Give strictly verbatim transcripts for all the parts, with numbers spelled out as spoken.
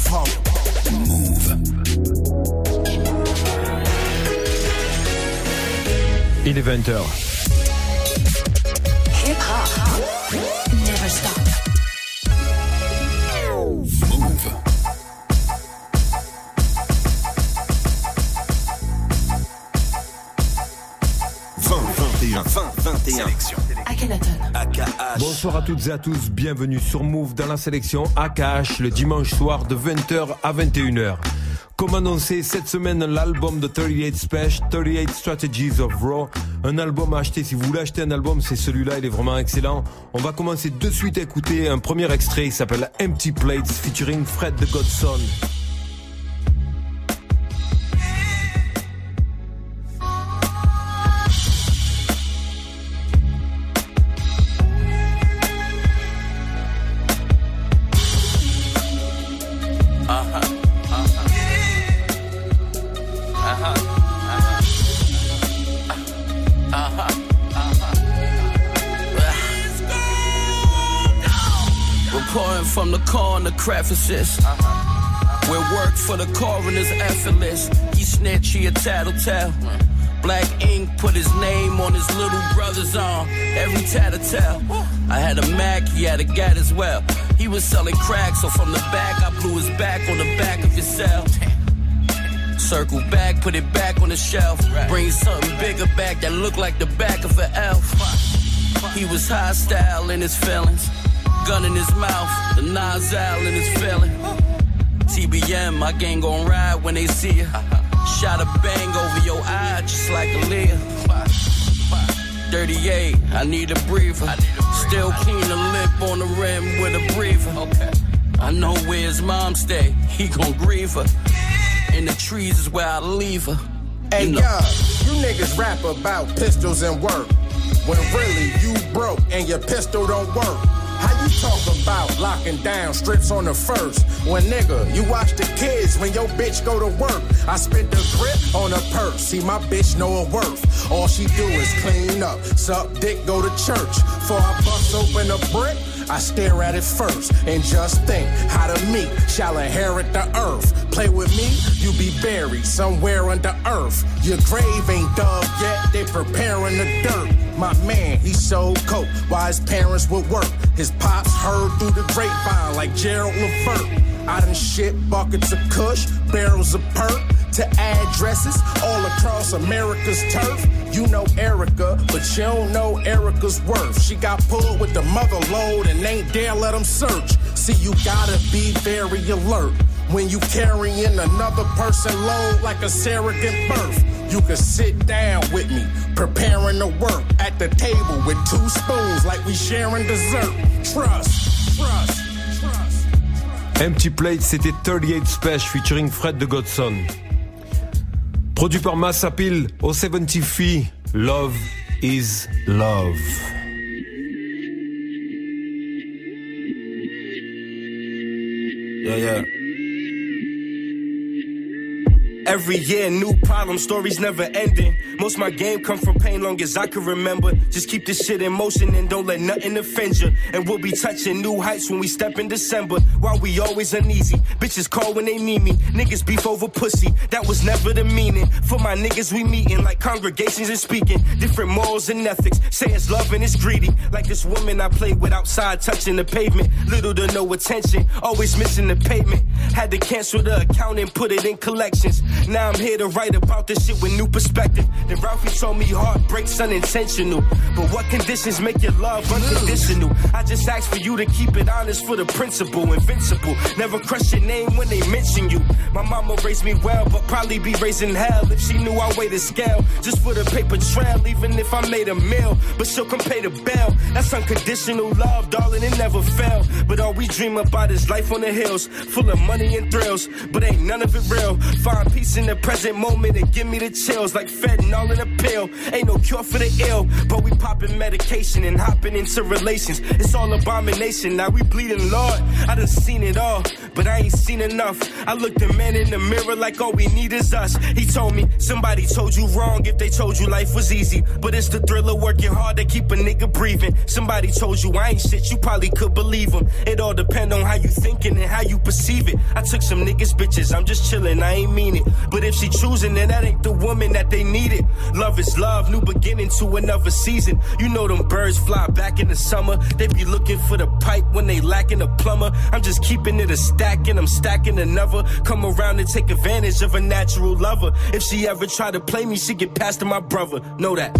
hip-hop. Move. Il est vingt heures. Hip-hop. Never stop. Move. vingt, vingt et un, vingt, vingt et un. Sélection. Akhenaton. A K H. Bonsoir à toutes et à tous, bienvenue sur Move dans la sélection A K H le dimanche soir de vingt heures à vingt et une heures. Comme annoncé, cette semaine, l'album de trente-huit Special, trente-huit Strategies of Raw. Un album à acheter, si vous voulez acheter un album, c'est celui-là, il est vraiment excellent. On va commencer de suite à écouter un premier extrait, il s'appelle Empty Plates, featuring Fred the Godson. From the corner crevices, where work for the coroner's effortless. He snitch, he a tattletale. Black ink put his name on his little brother's arm. Every tattletale. I had a Mac, he had a Gat as well. He was selling crack, so from the back I blew his back on the back of his cell. Circle back, put it back on the shelf. Bring something bigger back that looked like the back of an elf. He was hostile in his feelings. Gun in his mouth, the nozzle in his feeling. T B M, my gang gon' ride when they see ya. Shot a bang over your eye, just like a Leah. thirty-eight, I need a breather. Still clean the lip on the rim with a breather. I know where his mom stay, he gon' grieve her. In the trees is where I leave her. Hey, you know. yo, you niggas rap about pistols and work, when really you broke and your pistol don't work. How you talk about locking down strips on the first? When nigga, you watch the kids when your bitch go to work. I spit the grip on her purse, see my bitch know her worth. All she do is clean up, suck dick, go to church. Before I bust open a brick, I stare at it first and just think how the meek shall inherit the earth. Play with me, you be buried somewhere under earth. Your grave ain't dug yet, they preparing the dirt. My man, he sold coke while his parents would work. His pops heard through the grapevine like Gerald Levert. I done shit buckets of kush, barrels of perk, to addresses all across America's turf. You know Erica, but you don't know Erica's worth. She got pulled with the mother load and ain't dare let them search. See, you gotta be very alert when you carrying another person load like a surrogate birth. You can sit down with me, preparing to work at the table with two spoons like we sharing dessert. Trust, trust, trust. Empty Plate, c'était trente-huit Special featuring Fred the Godson. Produit par Mass Appeal au soixante-trois, Love is Love. Yeah, yeah. Every year, new problem, stories never ending. Most of my game come from pain long as I can remember. Just keep this shit in motion and don't let nothing offend you. And we'll be touching new heights when we step in December. While we always uneasy, bitches call when they need me. Niggas beef over pussy, that was never the meaning. For my niggas we meeting like congregations and speaking. Different morals and ethics, say it's love and it's greedy. Like this woman I played with outside touching the pavement. Little to no attention, always missing the payment. Had to cancel the account and put it in collections. Now I'm here to write about this shit with new perspective. Then Ralphie told me heartbreak's unintentional. But what conditions make your love unconditional? I just ask for you to keep it honest for the principle. Invincible, never crush your name when they mention you. My mama raised me well, but probably be raising hell if she knew I weighed a scale. Just for the paper trail, even if I made a meal. But she'll come pay the bill. That's unconditional love, darling, it never fell. But all we dream about is life on the hills, full of money and thrills. But ain't none of it real. Find peace in the present moment and give me the chills like fentanyl in a pill. Ain't no cure for the ill, but we popping medication and hopping into relations. It's all abomination, now we bleeding, Lord. I done seen it all, but I ain't seen enough. I looked the man in the mirror like all we need is us. He told me, somebody told you wrong if they told you life was easy. But it's the thrill of working hard to keep a nigga breathing. Somebody told you I ain't shit, you probably could believe them. It all depend on how you thinking and how you perceive it. I took some niggas bitches, I'm just chillin', I ain't mean it. But if she choosing, then that ain't the woman that they needed. Love is love, new beginning to another season. You know them birds fly back in the summer. They be looking for the pipe when they lacking a plumber. I'm just keeping it a stack and I'm stacking another. Come around and take advantage of a natural lover. If she ever try to play me, she get past to my brother. Know that.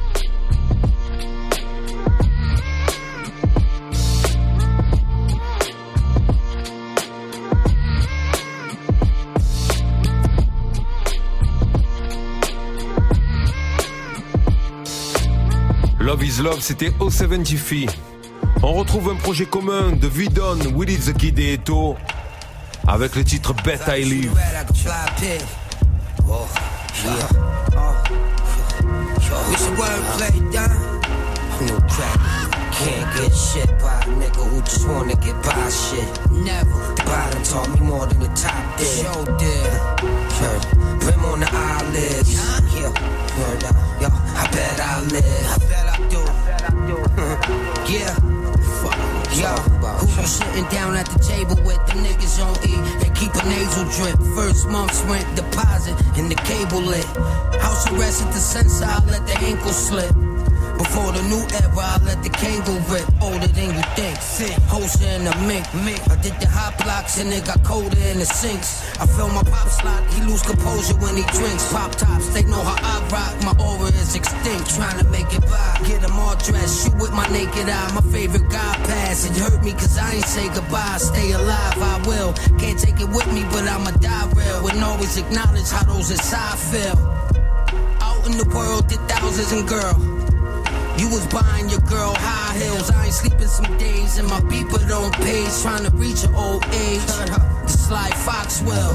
Love is Love, c'était O soixante-dix. On retrouve un projet commun de Vidon, Willie the Kid et Eto avec le titre Bet I Live. Can't get shit by a nigga who just wanna get by shit. Never. The bottom taught me more than the top did. Show did. Heard. Brim on the eyelids. Yeah. Heard that. Yo, I bet I live. I bet I do. I bet I do. Yeah. Fuck. Yo, who you sitting down at the table with the niggas on E? They keep a nasal drip. First month's rent deposit and the cable lit. House arrest at the sensor, I let the ankle slip. Before the new era, I let the cable rip. Older than you think. Hoser in the mink. I did the hot blocks and it got colder in the sinks. I feel my pop slot, he lose composure when he drinks. Pop tops, they know how I rock. My aura is extinct, trying to make it by. Get them all dressed, shoot with my naked eye. My favorite guy pass. It hurt me cause I ain't say goodbye. Stay alive, I will. Can't take it with me, but I'ma die real. And always acknowledge how those inside feel. Out in the world, did thousands and girl. You was buying your girl high heels. I ain't sleeping some days and my beeper don't page. Trying to reach an old age. The Sly Fox will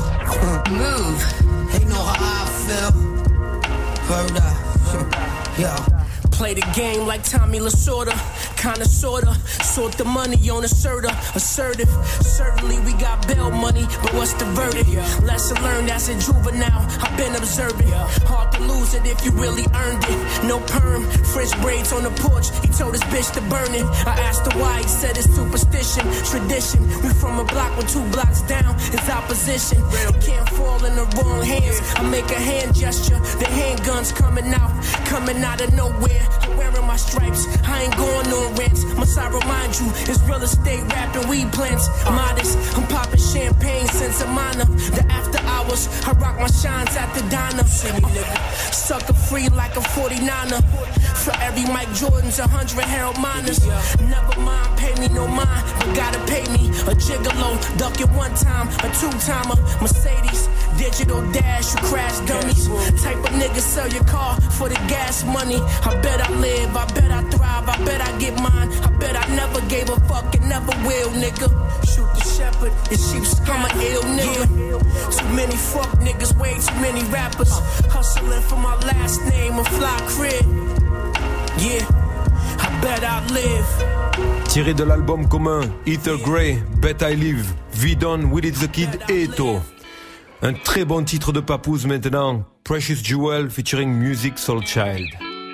move. They know how I feel. Heard up. Yo. Play the game like Tommy Lasorda. Kinda sorta. Sort the money on asserter. Assertive. Certainly we got bail money, but what's the verdict? Lesson learned as a juvenile. I've been observing. Hard to lose it if you really earned it. No perm. French braids on the porch. He told his bitch to burn it. I asked her why. He said it's superstition. Tradition. We from a block with two blocks down. It's opposition. It can't fall in the wrong hands. I make a hand gesture. The handguns coming out. Coming out of nowhere. I'm wearing my stripes, I ain't going on rants. Must I remind you, it's real estate rapping weed plants. Modest, I'm popping champagne since a minor. The after hours, I rock my shines at the diner. Uh, sucker free like a forty-niner. For every Mike Jordan's, a hundred Harold Miners. Never mind, pay me no mind, but gotta pay me. A gigolo, duck it one time, a two-timer. Mercedes, digital dash, you crash dummies. Type of nigga sell your car for the gas money. I bet I live, I bet I thrive, I bet I get mine. I bet I never gave a fuck and never will, nigga. Shoot the shepherd, the sheep scum, I'm an ill nigga. Too many fuck niggas, way too many rappers. Hustling for my last name, a fly crib. Yeah, I bet I live. Tiré de l'album commun Ether Grey, Bet I Live, Vidon, Willie the Kid et Eto. Un très bon titre de Papoose maintenant, Precious Jewel featuring Music Soul Child.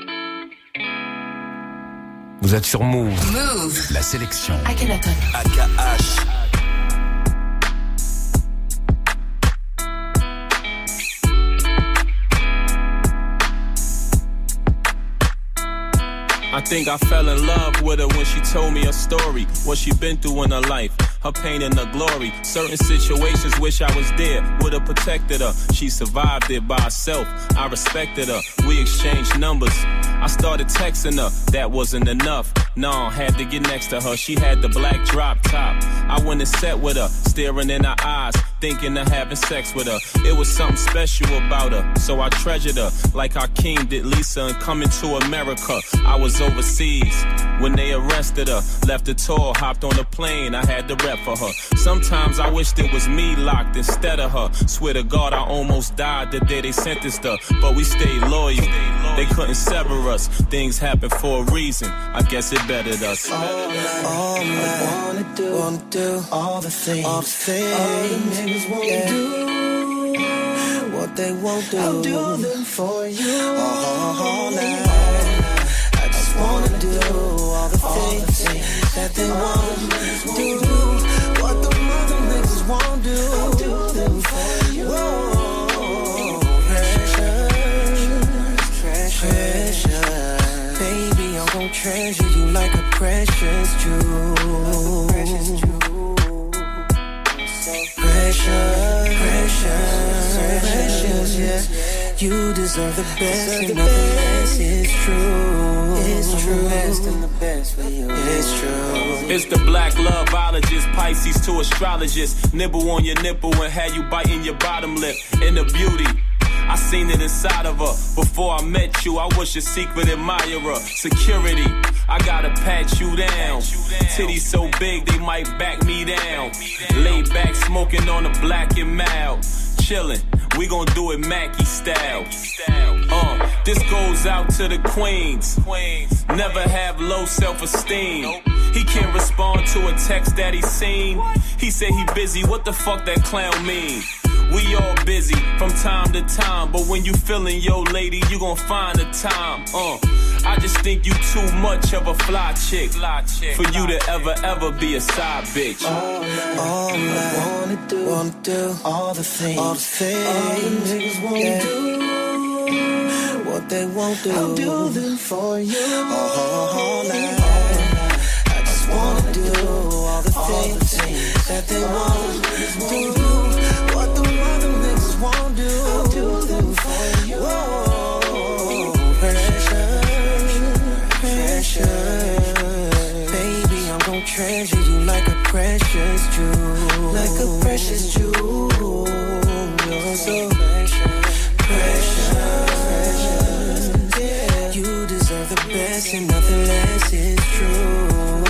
Vous êtes sur Move. Move. La sélection. Akhenaton. A K H. I think I fell in love with her when she told me her story, what she been through in her life, her pain and her glory. Certain situations wish I was there, would've protected her. She survived it by herself, I respected her. We exchanged numbers, I started texting her, that wasn't enough. No, had to get next to her, she had the black drop top. I went and sat with her, staring in her eyes, thinking of having sex with her. It was something special about her, so I treasured her like Hakeem did Lisa in Coming to America. I was overseas when they arrested her. Left the tour, hopped on the plane, I had to rep for her. Sometimes I wished it was me locked instead of her. Swear to God, I almost died the day they sentenced her, but we stayed loyal. They couldn't sever us. Things happen for a reason. I guess it bettered us. All I, all I wanna do, wanna do all the things, all the things, all the niggas won't yeah. do what they won't do. I'll do them for you all night. I just wanna do all the things, all the things that they wanna do. What the mother niggas won't do, I'll do them for you. Whoa, precious, precious, baby, I'm gon' treasure you like a precious jewel. Precious, precious, precious, yeah. You deserve the best, and nothing less is true. It's true. The best for you. It's true. It's the black loveologist, Pisces to astrologist. Nibble on your nipple and have you biting your bottom lip. In the beauty, I seen it inside of her. Before I met you, I was your secret admirer. Security, I gotta pat you down. Titties so big, they might back me down. Laid back, smoking on a black and mild. Chillin', we gon' do it Mackie style. Uh, this goes out to the queens. Never have low self-esteem. He can't respond to a text that he seen. He said he busy, what the fuck that clown mean? We all busy from time to time, but when you feelin' yo lady, you gon' find the time. Uh, I just think you too much of a fly chick, fly chick for you to ever, ever be a side bitch. All I, all I wanna do, wanna do all the things, all the things, all the niggas won't yeah. do what they won't do. I'll do them for you all night. I just wanna do all the things, all the things that they won't do. What the other niggas won't do, I'll do them for you. Whoa, precious, precious, baby, I'm gon' treasure you like a precious jewel, like a precious jewel. You're so precious, precious, yeah. You deserve the best and nothing less is true.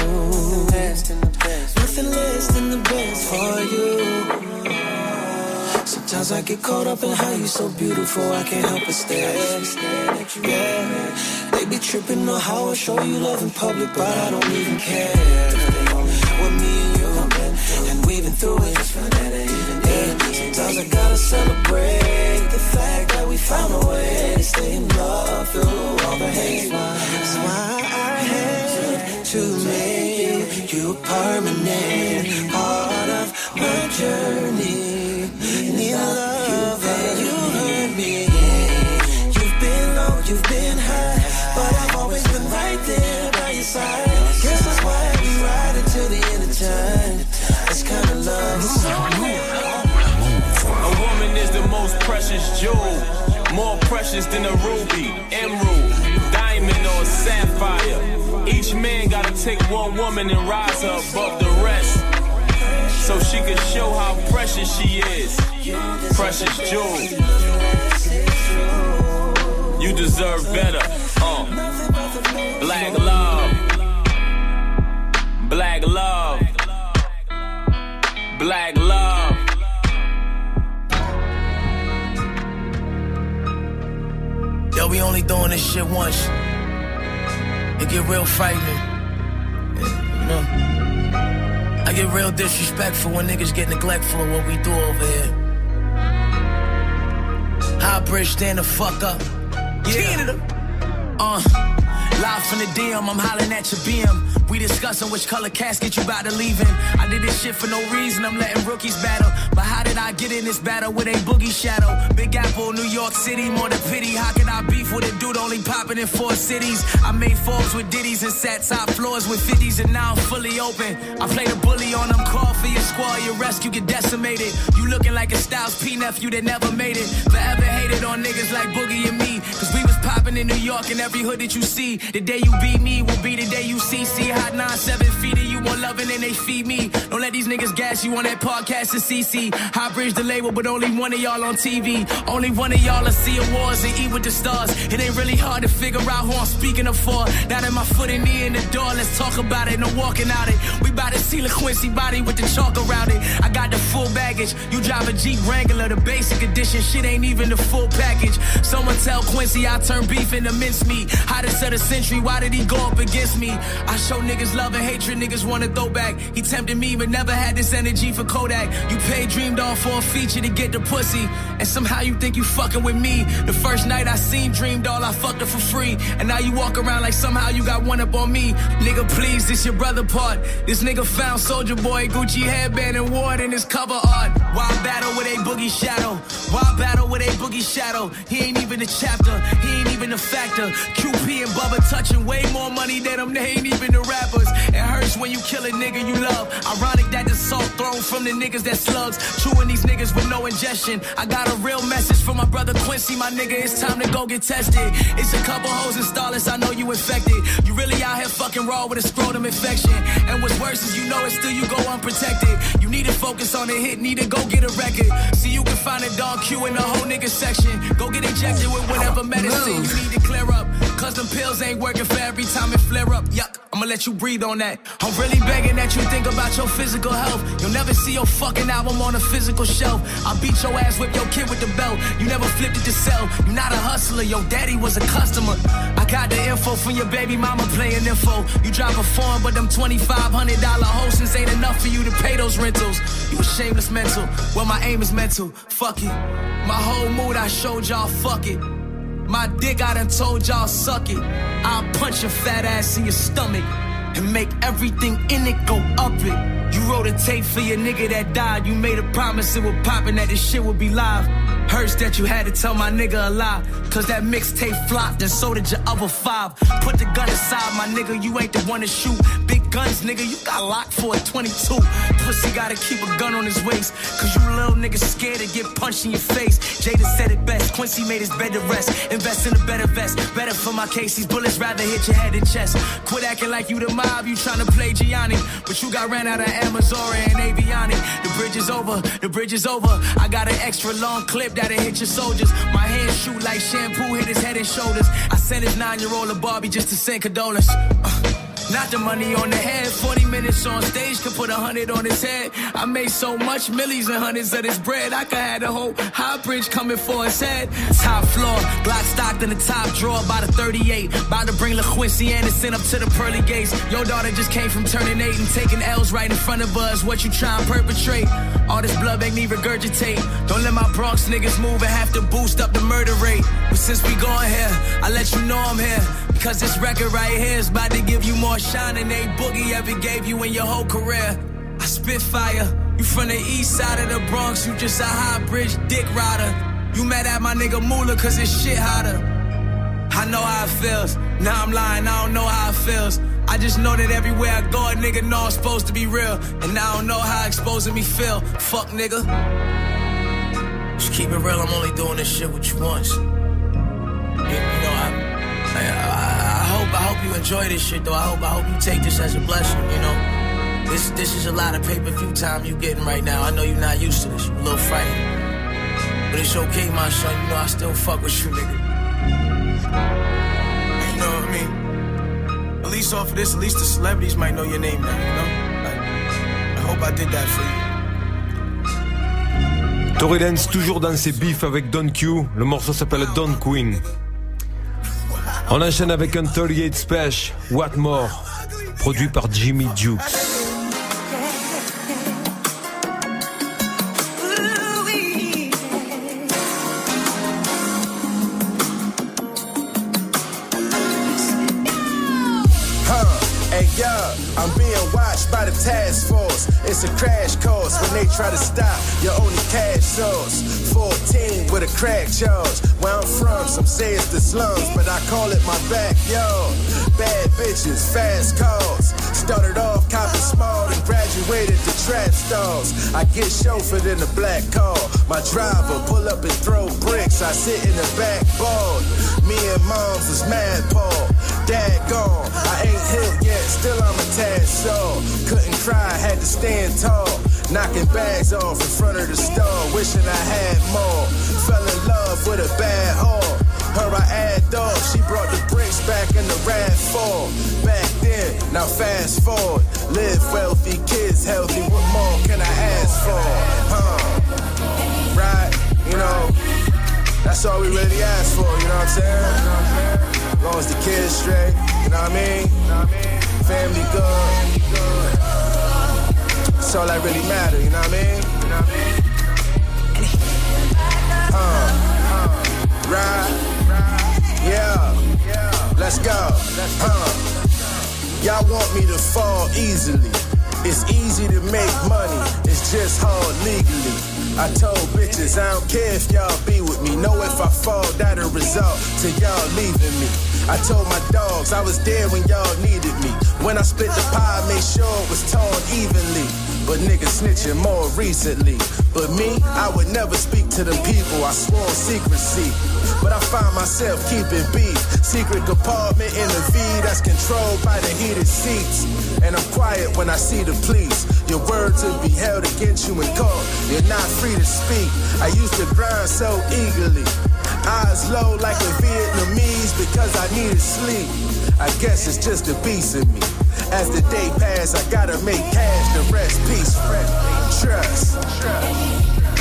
Nothing less than the best for you. Sometimes I get caught up in how you so beautiful, I can't help but stare. Yeah, they be tripping on how I show you love in public, but I don't even care. With me and you, and we've been through it. Yeah, sometimes I gotta celebrate the fact that we found a way to stay in love through all the hate. That's why I had to make you a permanent part of my journey. Need love, and you heard me. You've been low, you've been high, but I've always been right there by your side. Guess that's why we ride until the end of time. This kind of love is so a woman is the most precious jewel, more precious than a ruby, emerald, diamond, or sapphire. Each man gotta take one woman and rise her above the rest, so she can show how precious she is. Precious jewel, you deserve better. Uh. Black love, black love, black love. Yo, we only doing this shit once. It get real frightening. You know, I get real disrespectful when niggas get neglectful of what we do over here. High bridge, stand the fuck up. Yeah. Uh, live from the D M, I'm hollering at your B M. We discussing which color casket you about to leave in. I did this shit for no reason, I'm letting rookies battle. But how did I get in this battle with a boogie shadow? Big Apple, New York City, more than pity. How can I beef with a dude only popping in four cities? I made Forbes with ditties and sat top floors with fifties, and now I'm fully open. I play the bully on them, call for your squad, your rescue get decimated. You looking like a Styles P nephew that never made it. Forever hated on niggas like Boogie and me, cause we was popping in New York and every hood that you see. The day you beat me will be the day you see. See, hot nine, seven feet of you want loving and they feed me. Don't let these niggas gas you on that podcast to C C. High bridge the label, but only one of y'all on T V. Only one of y'all will see awards and eat with the stars. It ain't really hard to figure out who I'm speaking of for. Now that my foot and knee in the door, let's talk about it. No walking out it. We bout to see the Quincy body with the chalk around it. I got the full baggage. You drive a Jeep Wrangler, the basic edition. Shit ain't even the full package. Someone tell Quincy I turn beef into mincemeat. Hottest of the century, why did he go up against me? I show niggas love and hatred, niggas wanna throw back. He tempted me, but never had this energy for Kodak. You paid Dream Doll for a feature to get the pussy, and somehow you think you fucking with me. The first night I seen Dream Doll, I fucked her for free, and now you walk around like somehow you got one up on me. Nigga, please, this your brother part. This nigga found Soulja Boy, Gucci headband, and wore it in his cover art. Why battle with a boogie shadow? Why battle with a boogie shadow? He ain't even a chapter, he ain't even a factor. Q P and Bubba touching way more money than them, they ain't even the rappers. It hurts when you kill a nigga you love. Ironic that the salt thrown from the niggas that slugs. Chewing these niggas with no ingestion. I got a real message for my brother Quincy, my nigga, it's time to go get tested. It's a couple hoes in Starless, I know you infected. You really out here fucking raw with a scrotum infection. And what's worse is you know it, still you go unprotected. You need to focus on the hit, need to go get a record. See, you can find a dog Q in the whole nigga section. Go get injected with whatever medicine you need to clear up. Cause them pills ain't working for every time it flare up. Yuck, I'ma let you breathe on that. I'm really begging that you think about your physical health. You'll never see your fucking album on a physical shelf. I'll beat your ass with your kid with the belt. You never flipped it to sell. You're not a hustler, your daddy was a customer. I got the info from your baby mama playing info. You drive a form, but them twenty-five hundred dollar hostess ain't enough for you to pay those rentals. You a shameless mental, well my aim is mental. Fuck it, my whole mood I showed y'all, fuck it. My dick I done told y'all suck it. I'll punch your fat ass in your stomach and make everything in it go up it. You wrote a tape for your nigga that died. You made a promise it would pop and that this shit would be live. Hurts that you had to tell my nigga a lie. Cause that mixtape flopped and so did your other five. Put the gun aside, my nigga, you ain't the one to shoot. Big guns, nigga, you got locked for a twenty-two. Pussy gotta keep a gun on his waist. Cause you little niggas scared to get punched in your face. Jada said it best, Quincy made his bed to rest. Invest in a better vest, better for my case. These bullets rather hit your head and chest. Quit acting like you the mob, you tryna play Gianni. But you got ran out of Amazora and Aviani. The bridge is over, the bridge is over. I got an extra long clip that'll hit your soldiers. My hands shoot like shampoo, hit his head and shoulders. I sent his nine-year-old a Barbie just to send condolence. Uh. Not the money on the head, forty minutes on stage could put a hundred on his head. I made so much, millies and hundreds of this bread. I could have the whole high bridge coming for his head. Top floor, Glock stocked in the top drawer by the thirty-eight. About to bring LaQuincy Anderson up to the pearly gates. Your daughter just came from turning eight and taking L's right in front of us. What you trying to perpetrate? All this blood make me regurgitate. Don't let my Bronx niggas move and have to boost up the murder rate. But since we going here, I let you know I'm here. Cause this record right here is about to give you more shine than a boogie ever gave you in your whole career. I spit fire. You from the east side of the Bronx, you just a high bridge dick rider. You mad at my nigga Moolah cause it's shit hotter. I know how it feels. Now I'm lying, I don't know how it feels. I just know that everywhere I go, a nigga know I'm supposed to be real. And I don't know how exposing me feel. Fuck nigga. Just keep it real, I'm only doing this shit with you once. You, you know, I... I, I, I hope I hope you enjoy this shit though. I hope I hope you take this as a blessing, you know. This this is a lot of pay-per-view time you getting right now. I know you're not used to this, you're a little frightened. But it's okay, my son, you know I still fuck with you, nigga. You know what I mean? At least off of this, at least the celebrities might know your name now, you know? I, I hope I did that for you. Tory Lanez toujours dans ses beefs avec Don Q. Le morceau s'appelle Don Queen. On enchaîne avec un thirty-eight Special, What More, produit par Jimmy Jukes. I'm being watched by the task force. It's a crash course. course, when they try to stop your only cash source. fourteen with a crack charge. Where I'm from, some say it's the slums, but I call it my backyard. Bad bitches, fast cars. Started off copping small and graduated to trap stars. I get chauffeured in a black car. My driver pull up and throw bricks. I sit in the back board. Me and moms was mad Paul. Dad gone, I ain't hit yet, still I'm a tad sore. Couldn't cry, had to stand tall. Knocking bags off in front of the store, wishing I had more. Fell in love with a bad whore. Her I add off, she brought the bricks back in the RAV four. Back then, now fast forward. Live wealthy, kids healthy, what more can I ask for? Huh? Right? You know, that's all we really ask for, you know what I'm saying? As long as the kids straight, you know what I mean? Family good. That's all that really matter, you know what I mean? Uh, right? Yeah. Let's go. Uh, y'all want me to fall easily. It's easy to make money, it's just hard legally. I told bitches I don't care if y'all be with me. Know if I fall, that'll result to y'all leaving me. I told my dogs I was there when y'all needed me. When I split the pie, I made sure it was torn evenly. But niggas snitching more recently. But me, I would never speak to them people, I swore secrecy. But I find myself keeping beef. Secret compartment in the V that's controlled by the heated seats. And I'm quiet when I see the police. Your words will be held against you in court. You're not free to speak. I used to grind so eagerly. Eyes low like a Vietnamese because I needed sleep. I guess it's just a beast in me. As the day pass, I gotta make cash, the rest peace, trust. Trust.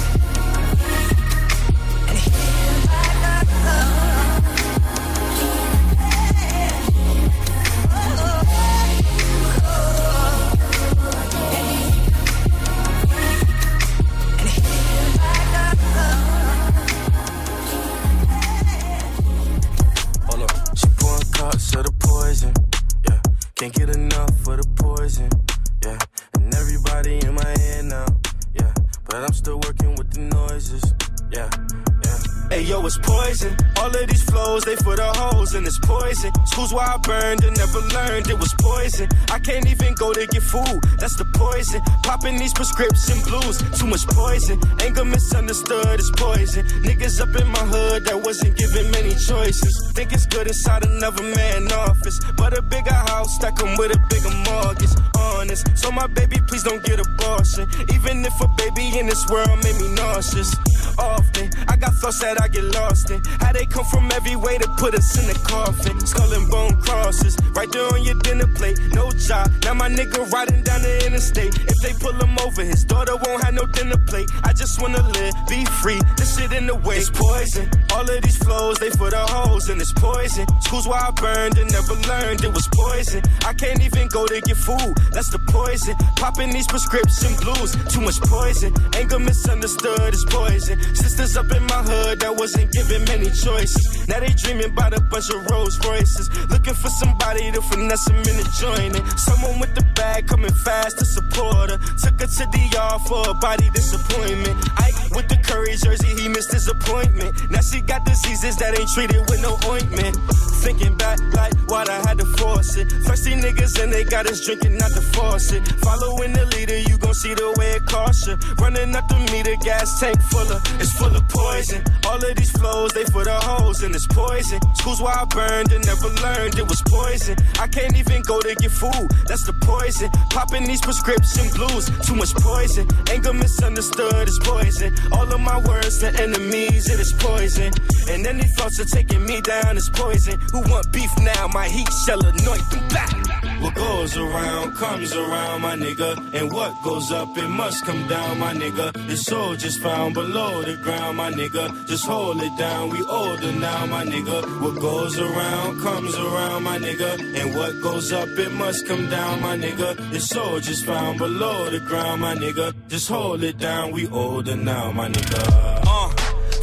Can't get enough for the poison, yeah. And everybody in my head now, yeah. But I'm still working with the noises, yeah, yeah. Hey yo, it's poison. All of these flows, they for the hoes and it's poison. Schools where I burned and never learned it was poison. I can't even go to get food, that's the poison. Popping these prescription blues, too much poison. Anger misunderstood is poison. Niggas up in my hood that wasn't given many choices. Think it's good inside another man's office, but a bigger house that come with a bigger mortgage. Honest, so my baby please don't get abortion. Even if a baby in this world made me nauseous. Often, I got thoughts that I get lost in. How they come from every way to put us in the coffin. Skull and bone crosses, right there on your dinner plate. No job, now my nigga riding down the interstate. If they pull him over, his daughter won't have no dinner plate. I just wanna live, be free, this shit in the way. It's poison, all of these flows, they for the hoes and it's poison. Schools where I burned and never learned it was poison. I can't even go to get food, that's the poison. Popping these prescription blues, too much poison. Anger misunderstood is poison. Sisters up in my hood that wasn't given many choices. Now they dreaming about a bunch of Rolls Royces. Looking for somebody to finesse them into joining. Someone with the bag coming fast to support her. Took her to D R for a body disappointment. Ike with the Curry jersey, he missed his appointment. Now she got diseases that ain't treated with no ointment. Thinking back like why'd I had to force it. Thirsty niggas and they got us drinking not the faucet. Following the leader, you gon' see the way it costs you. Running up the meter, gas tank full of, it's full of poison. All of these flows, they for the hoes and it's poison. Schools where I burned and never learned it was poison. I can't even go to get food, that's the poison. Popping these prescription blues, too much poison. Anger misunderstood is poison. All of my words to enemies, it is poison. And any thoughts of taking me down is poison. Who want beef now? My heat shall anoint them back. What goes around comes around, my nigga. And what goes up, it must come down, my nigga. The soul just found below the ground, my nigga. Just hold it down, we older now, my nigga. What goes around comes around, my nigga. And what goes up, it must come down, my nigga. The soul just found below the ground, my nigga. Just hold it down, we older now, my nigga. Uh.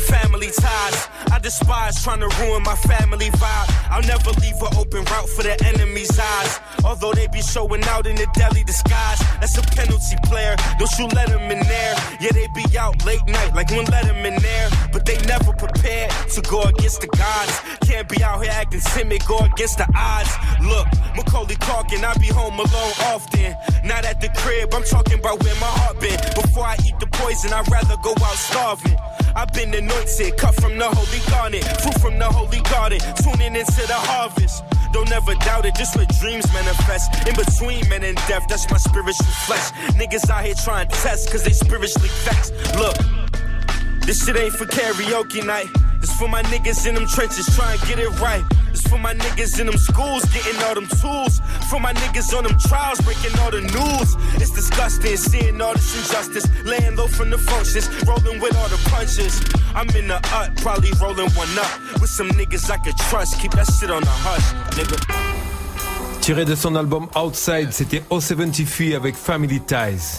family ties. I despise trying to ruin my family vibe. I'll never leave an open route for the enemy's eyes. Although they be showing out in a deadly disguise. That's a penalty player, don't you let them in there. Yeah, they be out late night like one let them in there. But they never prepared to go against the gods. Can't be out here acting timid, go against the odds. Look, Macaulay Culkin, I be home alone often. Not at the crib, I'm talking about where my heart been. Before I eat the poison, I'd rather go out starving. I've been anointed, cut from the holy garden, fruit from the holy garden, tuning into the harvest. Don't ever doubt it, just where dreams manifest. In between men and death, that's my spiritual flesh. Niggas out here trying to test, cause they spiritually vexed. Look, this shit ain't for karaoke night. It's for my niggas in them trenches trying to get it right. It's for my niggas in them schools getting all them tools. For my niggas on them trials breaking all the news. It's disgusting seeing all this injustice. Laying low from the functions, rolling with all the punches. I'm in the ut, probably rolling one up. With some niggas I could trust, keep that shit on the hush, nigga. Tiré de son album Outside, c'était O soixante-trois avec Family Ties.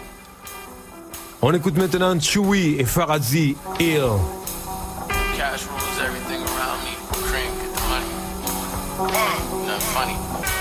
On écoute maintenant Chewy et Farazi, Ill. Cash rules everything around me. Cream, get the money. Nothing funny.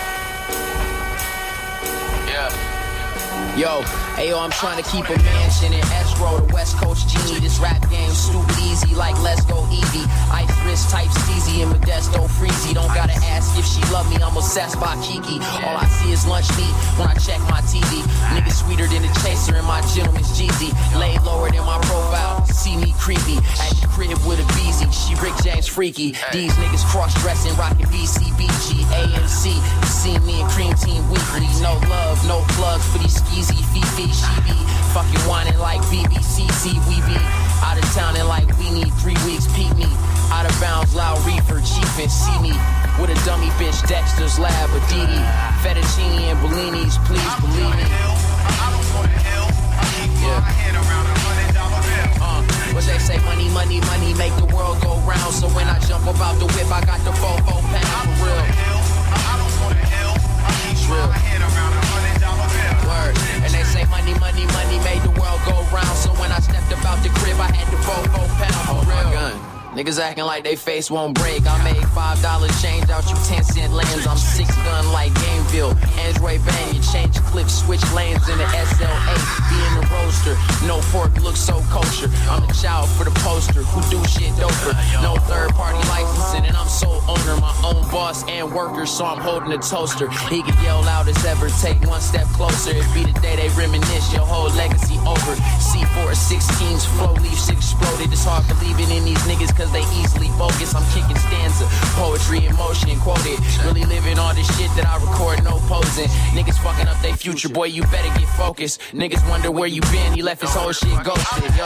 Yeah. Yo, ayo, I'm trying to keep a mansion in escrow. The West Coast genie, this rap game stupid easy like Let's Go Eevee. Ice wrist type Steezy and Modesto Freezy. Don't gotta ask if she love me, I'm obsessed by Kiki. All I see is lunch meat when I check my T V. Niggas sweeter than the chaser and my gentleman's Jeezy. Lay lower than my profile, see me creepy. At the crib with a Beezy, she Rick James freaky. These niggas cross-dressing, rockin' B C B G, A M C. You see me and Cream Team weekly. No love, no plugs for these skeezy Fifi. She be fucking whining like B B C C. We be out of town and like we need three weeks. Peep me, out of bounds, loud reefer, chief and see me. With a dummy bitch, Dexter's Lab, Aditi. Fettuccine and Bellinis, please believe me. Yeah. Uh, what they say, money, money, money, make the world go round. So when I jump about the whip, I got the four, four pound for real. It's real. Word. And they say money, money, money made the world go round. So when I stepped about the crib, I had the four, four pound for real. Gun. Niggas acting like they face won't break. I made five dollars change out you ten cent lanes. I'm six gun like Gameville. Android bang, you change clips, switch lanes in the S L A. Be in the roaster, no fork looks so kosher. I'm the child for the poster, who do shit doper. No third party licensing and I'm sole owner. My own boss and worker, so I'm holding a toaster. He can yell loud as ever, take one step closer. It be the day they reminisce, your whole legacy over. C four sixteens, flow leaves exploded. It's hard believing in these niggas cause they easily bogus. I'm kicking stanza, poetry in motion, quoted. Really living all this shit that I record, no posing. Niggas fucking up they future, boy, you better get focused. Niggas wonder where you been, he left his whole shit ghosted, yo.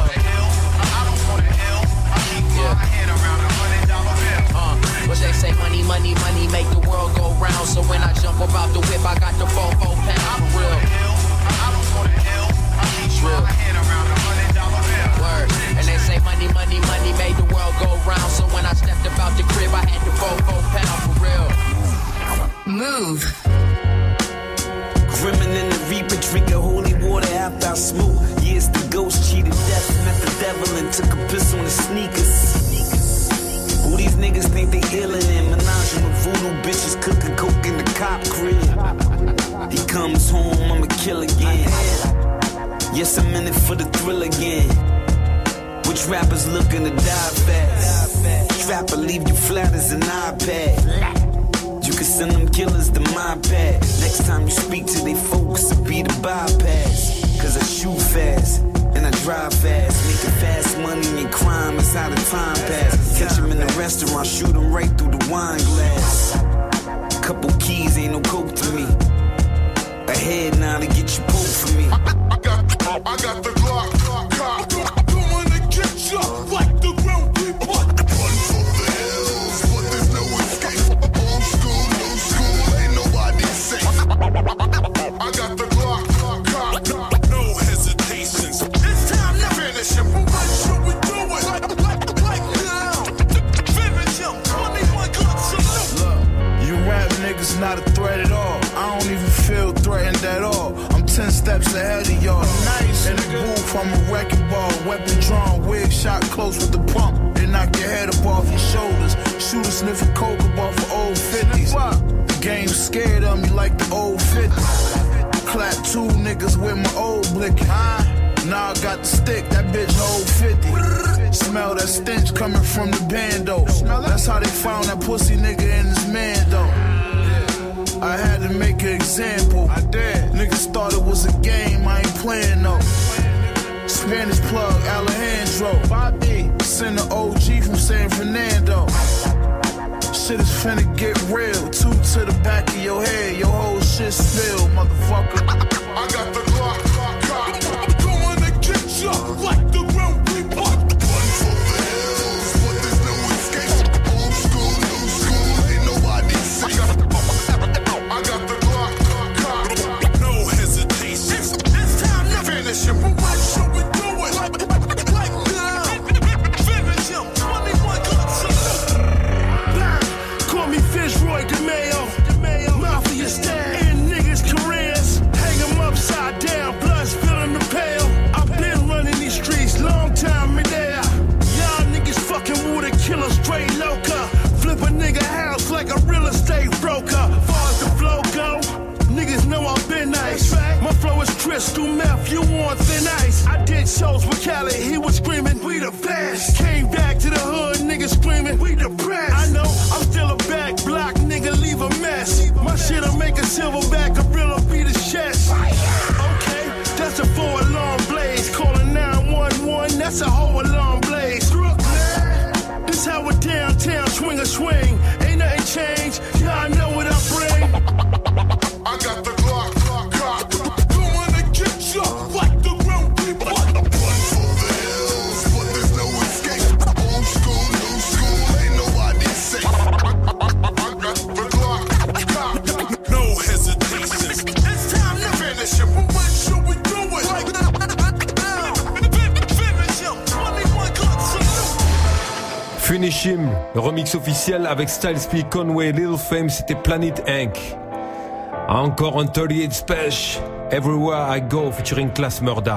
Yeah. Uh, what they say, money, money, money, make the world go round. So when I jump about the whip, I got the four, four pound for real. It's real. Word. And they say money, money, money made the world go round. So when I stepped about the crib, I had the four, four pound for real. Move. Crimin in the reaper, drinking holy water after I smoke. Years the ghost cheated death, met the devil and took a piss on his sneakers. Who these niggas think they illin' in? Menage with voodoo bitches cooking coke in the cop crib. He comes home, I'ma kill again. Yes, I'm in it for the thrill again. Which rappers looking to die fast? Trapper leave you flat as an iPad. You can send them killers to my pad. Next time you speak to they folks, it'll be the bypass. Cause I shoot fast, and I drive fast. Making fast money and crime is how the time pass. Catch him in the restaurant, shoot him right through the wine glass. Couple keys, ain't no coke to me. Ahead now to get you pulled for me. I, I, got, I got the Glock, Glock, Glock. Don't wanna get you like the ground people. Run for the hills, but there's no escape. Old school, new school, ain't nobody safe. I got the Glock, Glock, Glock. No hesitations. It's time to finish him. What should we do it? Like, like, like now. Finish him. twenty-one Glocks. Look, you rap niggas not a threat at all. I don't even feel threatened at all. I'm ten steps ahead of y'all. Nice. In the booth, I'm a wrecking ball. Weapon drawn, wig shot close with the pump. They knock your head up off your shoulders. Shoot a sniff of coke up off of old fifties. The game scared of me like the old fifties. Clap two niggas with my old blicky. Now I got the stick, that bitch old fifty. Smell that stench coming from the bando. That's how they found that pussy nigga in his man though. I had to make an example. I did. Niggas thought it was a game, I ain't playing though. Spanish plug, Alejandro. Bobby, send the O G from San Fernando. Shit is finna get real. Two to the back of your head, your whole shit spill, motherfucker. I got the Glock, Glock, Glock. Going to get you like the Grim Reaper. Run for the hills, but there's no escape. Old school, new school, ain't nobody safe. I got the Glock, Glock, Glock. No hesitation. It's time to finish him. But what should we do it? Like, like now. Finish him. twenty-one Glocks. Call me Fitzroy DeMayo. Mafia style. In niggas' careers. Hang them upside down. Blood spilling the pail. I've been running these streets. Long time in there. Y'all niggas fucking with a killer straight loca. Flip a nigga house like a real estate broker. Far as the flow go, niggas know I've been nice. My flow is crystal meth, you want thin ice. I did shows with Khaled, he was screaming, we the best. Came back to the hood, niggas screaming, we depressed. I know, I'm still a back block, nigga, leave a mess. My shit'll make a silverback gorilla beat his chest. Okay, that's a four alarm blaze. Calling nine one one, that's a whole alarm blaze. This how a downtown swing a swing. Ain't nothing changed, y'all know what I bring. I got the Glock, Glock, Glock. Going to get you like the Grim Reaper. Run for the hills, but there's no escape. Old school, new school, ain't nobody safe. I got the Glock, Glock. No hesitation. It's time to finish him. But when should we do it? Like now. Finish him. twenty-one Glocks. Finish Him, le remix officiel avec Styles P, Conway, Lil Fame, c'était Planet Incorporated. Encore un thirty-eight Special, Everywhere I Go featuring Class Murder.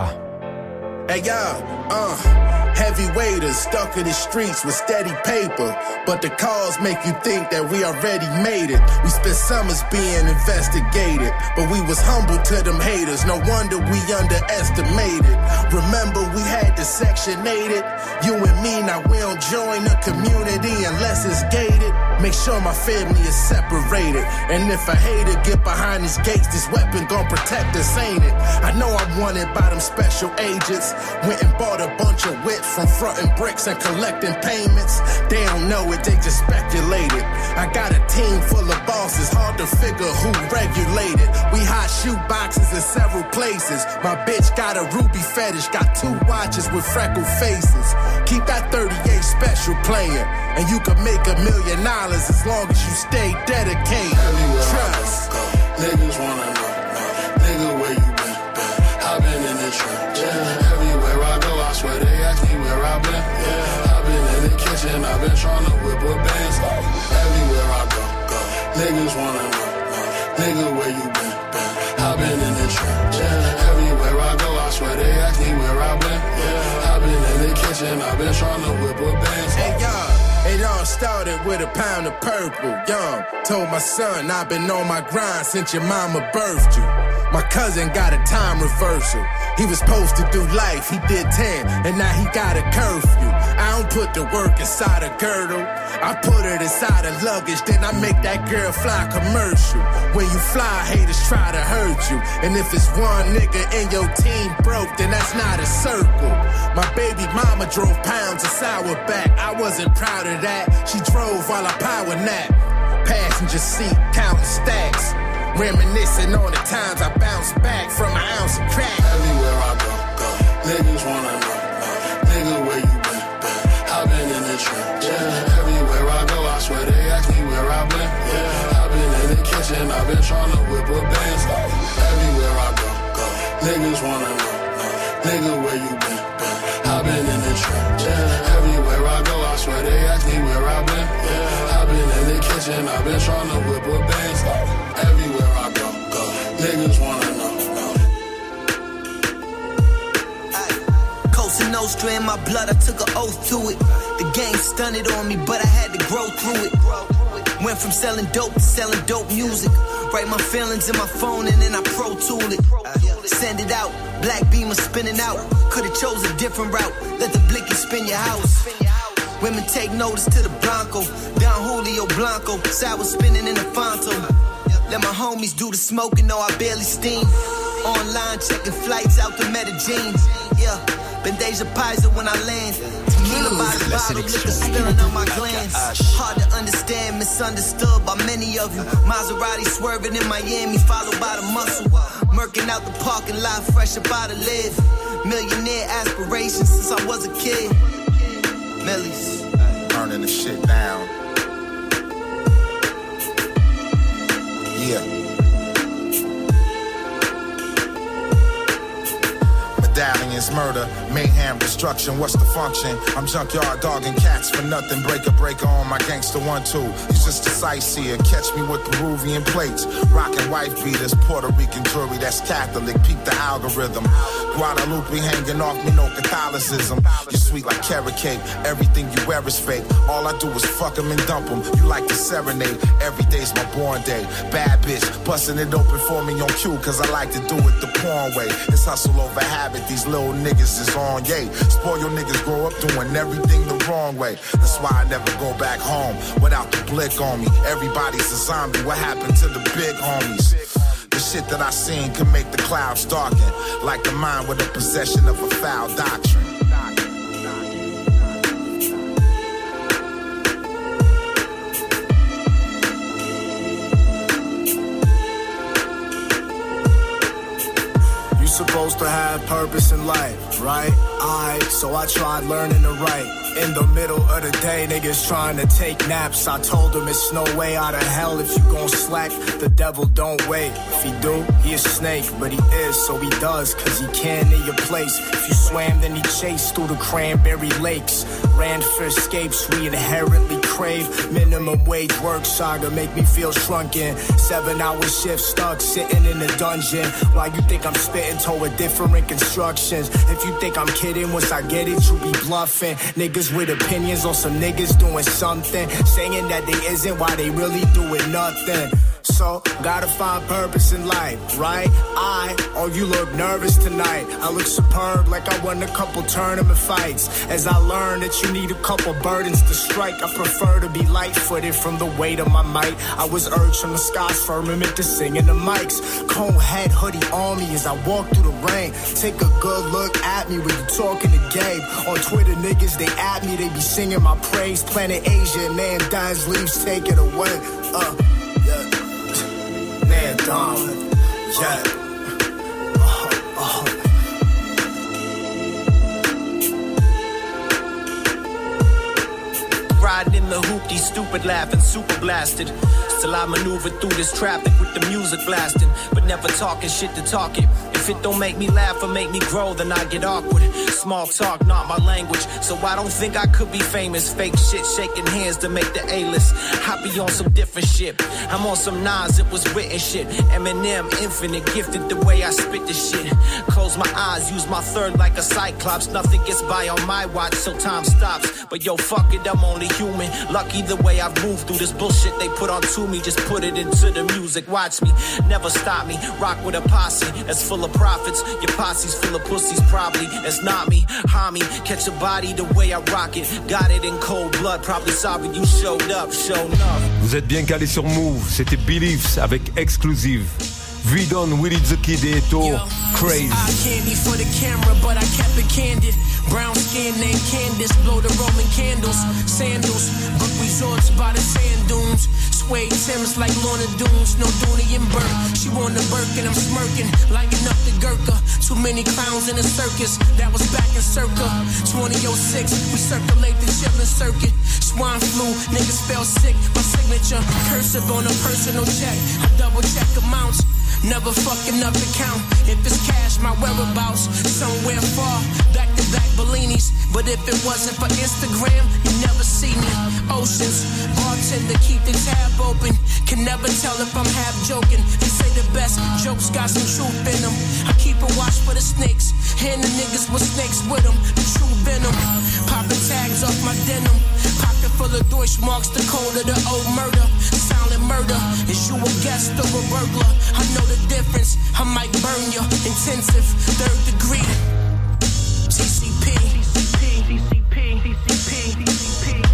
Hey y'all, uh, heavy waiters stuck in the streets with steady paper, but the calls make you think that we already made it. We spent summers being investigated, but we was humble to them haters. No wonder we underestimated. Remember we had to section eight it. You and me, now we don't join the community unless it's gated. Make sure my family is separated. And if a hater get behind his gates, this weapon gon' protect us, ain't it? I know I'm wanted by them special agents. Went and bought a bunch of whips from frontin' bricks and collecting payments. They don't know it, they just speculated. I got a team full of bosses, hard to figure who regulated. We hot shoe boxes in several places. My bitch got a ruby fetish, got two watches with freckled faces. Keep that thirty-eight Special playing, and you can make a million dollars as long as you stay dedicated. Trust. Niggas wanna know, nigga, where you been? I've been in the trench. Yeah. Everywhere I go, I swear they ask me where I've been. Yeah. I've been in the kitchen, I've been tryna whip up bands. Everywhere I go, go. Niggas wanna know, nigga, where you been? I've been in the trench. Yeah. Everywhere I go, I swear they ask me where I've been. Yeah. I've been in the kitchen, I've been tryna whip up bands. Hey y'all, it all started with a pound of purple. Young, told my son I've been on my grind since your mama birthed you. My cousin got a time reversal. He was supposed to do life, he did ten, and now he got a curfew. I don't put the work inside a girdle, I put it inside a luggage, then I make that girl fly commercial. When you fly, haters try to hurt you, and if it's one nigga in your team broke, then that's not a circle. My baby mama drove pounds of sour back, I wasn't proud of that. She drove while I power nap. Passenger seat, counting stacks. Reminiscing on the times I bounced back from an ounce of crack. Everywhere I go, go. Niggas wanna know, nigga, where you been? I've been in the trench. Yeah. Everywhere I go, I swear they ask me where I've been. Yeah. I've been in the kitchen, I've been tryna whip up bands. Everywhere I go, go. Niggas wanna know, nigga, where you been? I've been in the trench. Yeah. Everywhere I go, I swear they ask me where I've been. Yeah. I've been in the kitchen, I've been tryna whip up bands. Everywhere I go, go. Niggas wanna know, know. Coast to Cosa Nostra in my blood, I took an oath to it. The game stunted on me, but I had to grow through it. Went from selling dope to selling dope music. Write my feelings in my phone and then I Pro Tool it. Send it out, black beamer spinning out. Could've chose a different route, let the blicky spin your house. Women take notice to the Blanco, Don Julio Blanco, sour spinning in the Fonto. Let my homies do the smoking, though I barely steam. Online checking flights out to Medellin. Yeah, Bendeja Paisa when I land. Tequila by the bottle, liquor spilling on my glands. Hard to understand, misunderstood by many of you. Maserati swerving in Miami, followed by the muscle. Murking out the parking lot, fresh about to live. Millionaire aspirations since I was a kid. Millies. Burning the shit down. Yeah. Medallions, murder, mayhem, destruction, what's the function? I'm junkyard dogging cats for nothing, breaker, breaker on my gangster one, two. He's just a sightseer, catch me with Peruvian plates. Rockin' wife beaters, Puerto Rican jewelry, that's Catholic, peep the algorithm. Guadalupe hanging off me, no Catholicism. You sweet like carrot cake, everything you wear is fake. All I do is fuck 'em and dump 'em. You like to serenade, every day's my born day. Bad bitch, busting it open for me on cue, cause I like to do it the porn way. It's hustle over habit, these little niggas is on yay. Spoil your niggas grow up doing everything the wrong way. That's why I never go back home without the blick on me. Everybody's a zombie, what happened to the big homies? The shit that I seen can make the clouds darken, like the mind with the possession of a foul doctrine. You supposed to have purpose in life, right? I, so I tried learning to write. In the middle of the day, niggas trying to take naps. I told them it's no way out of hell if you gon' slack. The devil don't wait. If he do, he a snake. But he is, so he does, cause he can in your place. If you swam, then he chased through the cranberry lakes. Ran for escapes we inherently crave. Minimum wage work saga make me feel shrunken. Seven hour shift stuck sitting in the dungeon. Why you think I'm spitting toward different constructions? If you think I'm kidding, once I get it, you be bluffing. Niggas with opinions on some niggas doing something, saying that they isn't while they really doing nothing. So, gotta find purpose in life, right? I, oh you look nervous tonight. I look superb like I won a couple tournament fights. As I learned that you need a couple burdens to strike, I prefer to be light-footed from the weight of my might. I was urged from the sky's firmament to sing in the mics. Cone head hoodie on me as I walk through the rain. Take a good look at me when you talking to Gabe. On Twitter niggas, they at me, they be singing my praise. Planet Asia, man dies, leaves, take it away. Uh, yeah. Man, Dom, yeah. Uh, uh. Riding in the hoopty, stupid laughing, super blasted. Still I maneuver through this traffic with the music blasting, but never talking shit to talk it. If it don't make me laugh or make me grow, then I get awkward. Small talk, not my language, so I don't think I could be famous. Fake shit, shaking hands to make the A-list. I be on some different shit. I'm on some Nas, it was written shit. Eminem, infinite, gifted the way I spit this shit. Close my eyes, use my third like a cyclops. Nothing gets by on my watch, so time stops. But yo, fuck it, I'm only human. Lucky the way I've moved through this bullshit they put onto me. Just put it into the music, watch me, never stop me. Rock with a posse that's full of profits. Your posse's full of pussies, probably. That's not me, homie. Catch a body the way I rock it. Got it in cold blood, probably sorry you showed up, showed up. Vous êtes bien calé sur Move, c'était Beliefs avec Exclusive. Vidon, Willie the Kid et Eto, Crazy. I candy for the camera, but I kept it candid. Brown skin named Candace, blow the Roman candles. Sandals, book resorts by the sand dunes. Suede Timbs like Lorna Doones, no Dooney and Burke. She won the Birkin, I'm smirking, lighting up the Gurkha. Too many clowns in the circus, that was back in circa twenty oh six, we circulate the chillin' circuit. Swine flu, niggas fell sick, my signature, cursive on a personal check. I double check amounts, never fucking up the count. If it's cash, my whereabouts, somewhere far, back to back Bellinis. But if it wasn't for Instagram, you never see me. Oceans, bartender, keep the tab open. Can never tell if I'm half joking. They say the best jokes got some truth in them. I keep a watch for the snakes, and the niggas with snakes with them. The truth my denim. Pocket full of Deutsch marks, the code of the old murder. Silent murder, is you a guest or a burglar? I know the difference, I might burn you. Intensive, third degree. T C P, T C P, T C P, T C P, T C P.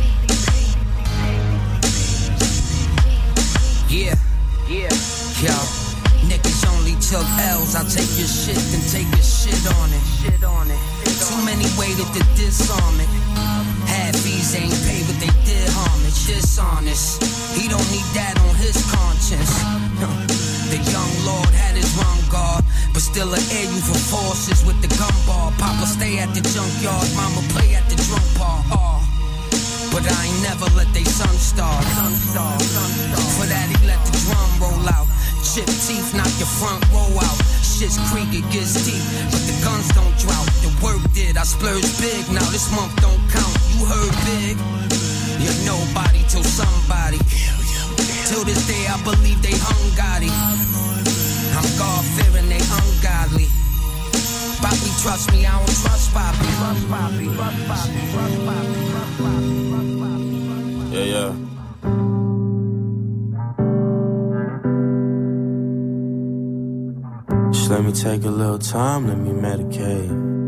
Yeah, yeah, yo. Niggas only took L's. I take your shit and take your shit on it. Shit on it. Too many waited to disarm it. Half fees ain't paid, but they did homage. Dishonest. He don't need that on his conscience. The young lord had his wrong guard, but still an air you for forces with the gun bar. Papa stay at the junkyard, mama play at the drum bar. Oh. But I ain't never let they son starve. For that he let the drum roll out. Chip teeth, knock your front row out. Shit's creak, it gets deep, but the guns don't drought. The work did, I splurged big, now this month don't count. You heard big, you're nobody till somebody. Till this day I believe they hung Gotti. I'm God-fearing, they ungodly. Bobby, trust me, I don't trust Bobby. Trust Bobby, trust Bobby, trust Bobby, trust Bobby. Yeah, yeah. Just let me take a little time, let me medicate.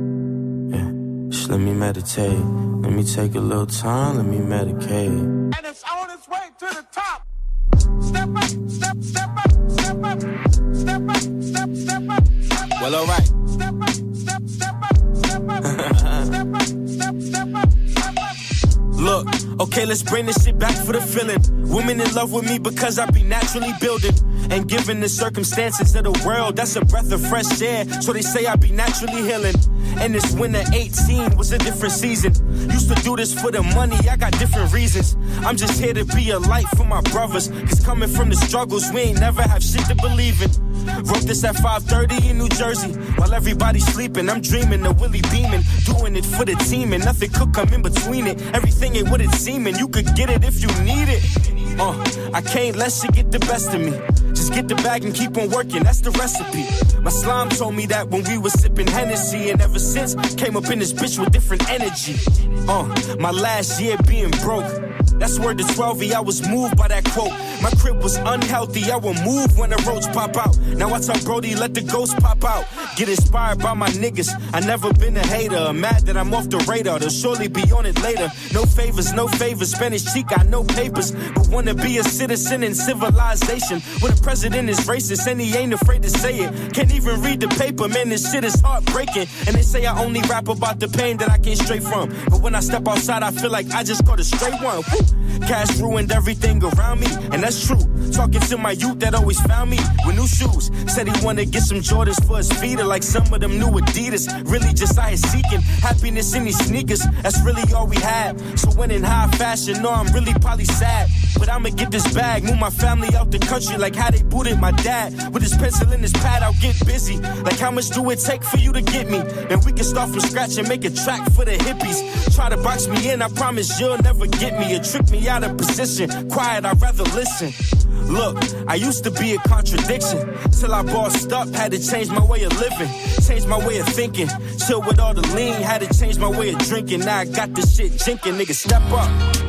Yeah, just let me meditate. Let me take a little time, let me medicate. And it's on its way to the top. Step up, step, step up, step up, step up, step, step up, step up. Well, alright. Step up, step, step up, step up, step up, step, step up, step up. Look, okay, let's bring this shit back for the feeling. Women in love with me because I be naturally building. And given the circumstances of the world, that's a breath of fresh air. So they say I be naturally healing. And this winter eighteen was a different season. Used to do this for the money, I got different reasons. I'm just here to be a light for my brothers. Cause coming from the struggles, we ain't never have shit to believe in. Wrote this at five thirty in New Jersey. While everybody's sleeping, I'm dreaming of Willie beaming. Doing it for the team and nothing could come in between it. Everything ain't what it's seeming, you could get it if you need it. Uh, I can't let shit get the best of me. Just get the bag and keep on working, that's the recipe. My slime told me that when we was sipping Hennessy. And ever since, came up in this bitch with different energy. Uh, my last year being broke, that's word to twelve, I was moved by that quote. My crib was unhealthy, I will move when the roads pop out. Now I tell Brody, let the ghost pop out. Get inspired by my niggas, I never been a hater. I'm mad that I'm off the radar, they'll surely be on it later. No favors, no favors, Spanish cheek, got no papers. But wanna be a citizen in civilization. When the president is racist and he ain't afraid to say it. Can't even read the paper, man, this shit is heartbreaking. And they say I only rap about the pain that I came straight from. But when I step outside, I feel like I just caught a straight one. Woo. Cash ruined everything around me, and that's true. Talking to my youth that always found me with new shoes. Said he wanna get some Jordans for his feet, or like some of them new Adidas. Really just out here seeking happiness in these sneakers. That's really all we had. So when in high fashion, no, I'm really probably sad. But I'ma get this bag, move my family out the country like how they booted my dad. With his pencil in his pad, I'll get busy. Like how much do it take for you to get me? And we can start from scratch and make a track for the hippies. Try to box me in, I promise you'll never get me. Or trick me out of position. Quiet, I'd rather listen. Look, I used to be a contradiction. Till I bossed up, had to change my way of living. Change my way of thinking. Chill with all the lean, had to change my way of drinking. Now I got this shit jinking, nigga, step up.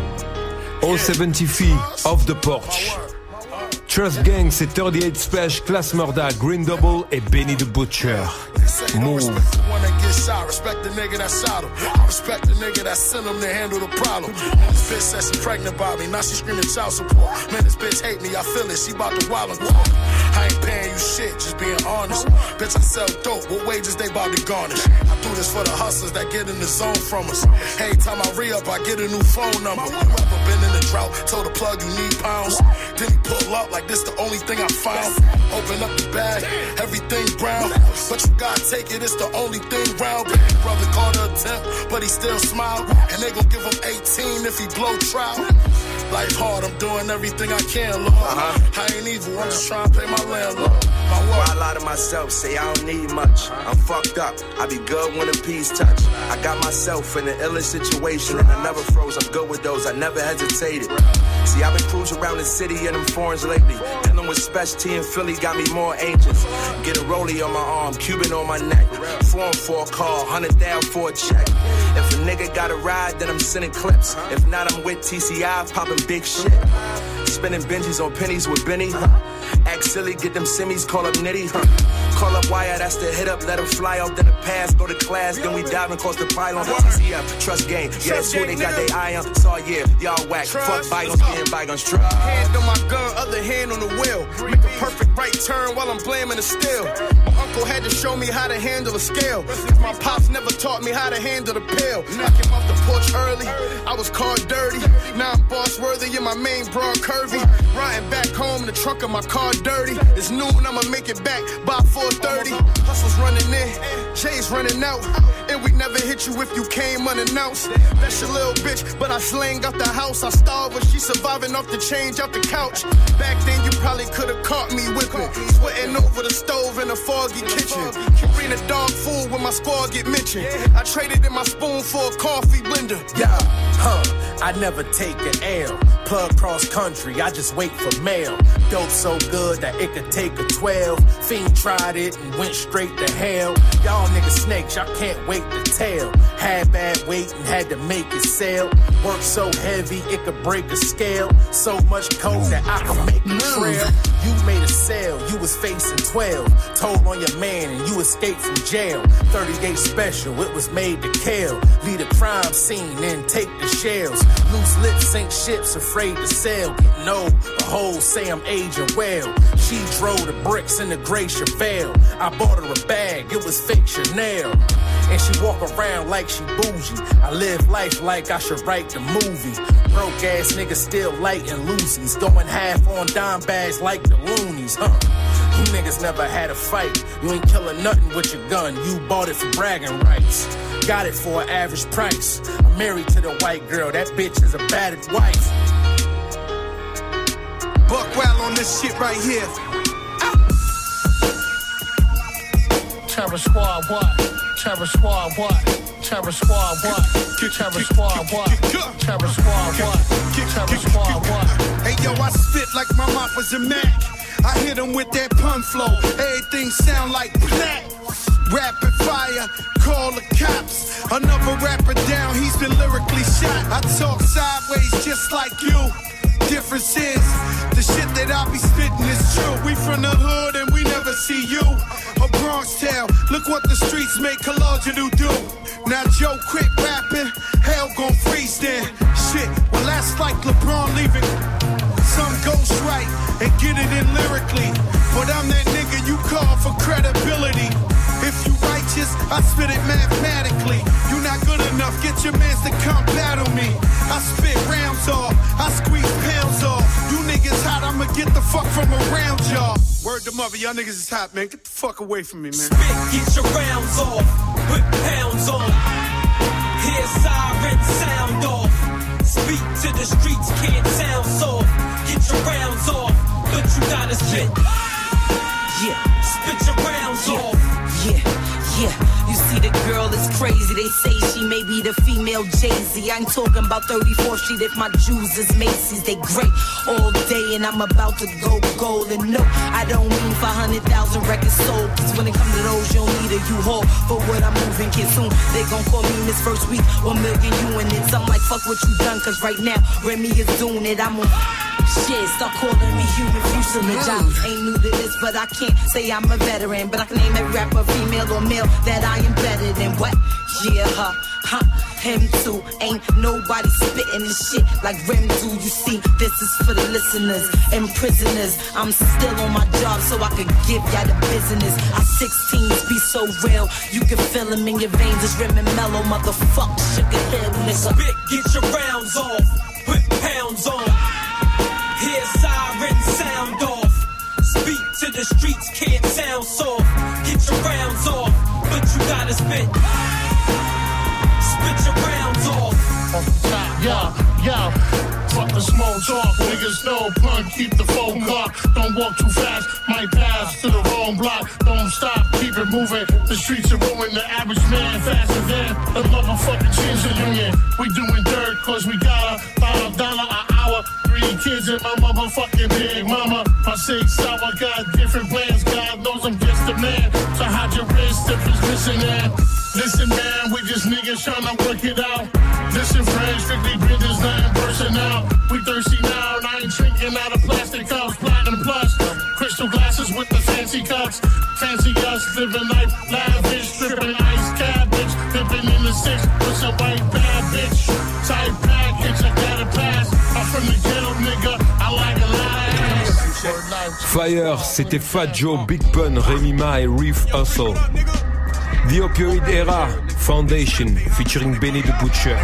All seventy feet off the porch. Trust Gang, c'est thirty-eight Special, Class Murda, Green Double et Benny the Butcher. Move. Shot. Respect the nigga that shot him. I respect the nigga that sent him to handle the problem. Man, this bitch said she pregnant by me. Now she screaming child support. Man, this bitch hate me. I feel it. She about to wild and walk. I ain't paying you shit, just being honest. Bitch, I sell dope. What wages they about to garnish? I do this for the hustlers that get in the zone from us. Every time I re-up, I get a new phone number. Whoever been in the drought, told the plug you need pounds. Then he pull up like this the only thing I found. Open up the bag, everything brown. But you gotta take it, it's the only thing round. Baby brother caught a attempt, but he still smiled. And they gon' give him eighteen if he blow trial. Life hard, I'm doing everything I can, Lord. Uh-huh. I ain't evil, I'm just trying to pay my landlord. Why I lie to myself, say I don't need much. I'm fucked up, I be good when the peas touch. I got myself in an illest situation and I never froze. I'm good with those, I never hesitated. See, I've been cruising around the city in them foreigns lately. Dealing with Special T in Philly got me more anxious. Get a rollie on my arm, Cuban on my neck. Foreign for a call, hundred thousand for a check. If a nigga got a ride, then I'm sending clips. If not, I'm with T C I, popping big shit. Spinning Benjis on pennies with Benny, huh? Act silly, get them semis, call up Nitty, huh? Call up Wire, that's the hit up, let her fly out, then the pass, go to class, then we dive and cross the pylon. T C F, trust game, yeah, that's who they got they eye on. Saw yeah, y'all whack, fuck bygones, being bygones, trust. Hand on my gun, other hand on the wheel. Make a perfect right turn while I'm blaming the steel. My uncle had to show me how to handle a scale. Cause my pops never taught me how to handle the pill. I came off the porch early, I was called dirty. Now I'm boss worthy in my main broad curvy. Riding back home in the trunk of my car dirty. It's noon, I'ma make it back by four thirty. Hustle's running in, Jay's running out. And we never hit you if you came unannounced. That's your little bitch, but I slang out the house. I starved when she surviving off the change out the couch. Back then you probably could've caught me whipping, sweating over the stove in a foggy kitchen. Bring a dog food when my squad get mentioned. I traded in my spoon for a coffee blender. Yeah, huh, I never take an L. Plug cross country, I just wait for mail. Dope so good that it could take a twelve. Fiend tried it and went straight to hell. Y'all niggas snakes, y'all can't wait to tell. Had bad weight and had to make it sell. Work so heavy it could break a scale. So much coke that I could make a trail. You made a sale, you was facing twelve. Told on your man and you escaped from jail. thirty-eight special, it was made to kill. Leave the crime scene and take the shells. Loose lips sink ships, afraid to sail. Getting old, the hoes say I'm aging well. She drove the bricks in the gray Chevelle. I bought her a bag, it was fake Chanel. And she walk around like she bougie. I live life like I should write the movie. Broke ass niggas still lighting loosies. Going half on dime bags like the loonies, huh? You niggas never had a fight. You ain't killing nothing with your gun. You bought it for bragging rights. Got it for an average price. I'm married to the white girl. That bitch is a battered wife. Buck wild on this shit right here. Terror Squad, what? Terror Squad, what? Terror Squad, what? Terror Squad, what? Terror Squad, what? Terror Squad, what? Hey yo, I spit like my mop was a Mac. I hit him with that pun flow. Everything sound like black. Rapid fire, call the cops. Another rapper down, he's been lyrically shot. I talk sideways just like you. Difference is, the shit that I be spitting is true. We from the hood and we never see you. A Bronx town, look what the streets make Kalogelu do. Now Joe quit rapping, hell gon' freeze then. Shit, well that's like LeBron leaving. Some ghost right and get it in lyrically. But I'm that nigga you call for credibility. If you righteous, I spit it mathematically. You not good enough, get your mans to come battle me. I spit rounds off, I squeeze pounds off. You niggas hot, I'ma get the fuck from around y'all. Word to mother, y'all niggas is hot, man. Get the fuck away from me, man. Spit, get your rounds off, put pounds on. Hear siren sound off. Speak to the streets, can't sound soft. Get your rounds off, but you gotta spit. Yeah, spit your rounds yeah. off. Yeah, yeah, you see the girl is crazy. They say she may be the female Jay-Z. I ain't talking about thirty-fourth Street if my Jews is Macy's. They great all day and I'm about to go gold. And no, I don't mean five hundred thousand records sold. Cause when it comes to those, you don't need a U-Haul for what I'm moving. Kid, soon they gon' call me Miss First Week, one million units. I'm like, fuck what you done, cause right now Remy is doing it. I'm on shit, start calling me human fuselage. I ain't new to this, but I can't say I'm a veteran. But I can name every rapper, female or male, that I am better than what? Yeah, huh, huh, him too. Ain't nobody spitting this shit like Rem do. You see, this is for the listeners and prisoners. I'm still on my job so I can give y'all the business. I sixteens be so real, you can feel them in your veins. It's Rem and Mellow, motherfucker, sugar hill, nigga. Spit, get your rounds off, put pounds on. Hear siren sound off. Speak to the streets, can't sound soft. Get your rounds off, but you gotta spit. Spit your rounds off. Off the top, yo, yo. Fuck the small talk, niggas no pun. run, keep the phone clock. Don't walk too fast, might pass to the wrong block. Don't stop, keep it moving. The streets are ruined the average man faster than the motherfucking Chinza Union. We doing dirt cause we got a five dollar an hour. Three kids and my motherfucking big mama. My six hour got different plans. God knows I'm just a man. So hide your wrist if it's listening. Listen man, we just niggas tryna work it out. Listen friends, strictly business, nothing personal. We thirsty now and I ain't drinking out of plastic cups. Platinum plus, crystal glasses with the fancy cups. Fancy us, living life lavish. Stripping ice cabbage, dipping in the six with some white bad bitch. Tight package, I gotta pass. I'm from the ghetto nigga, I like a lot of ass. Fire, c'était Fat Joe, Big Pun, Remy Ma et Reef Hustle. The Opioid Era, Foundation, featuring Benny the Butcher.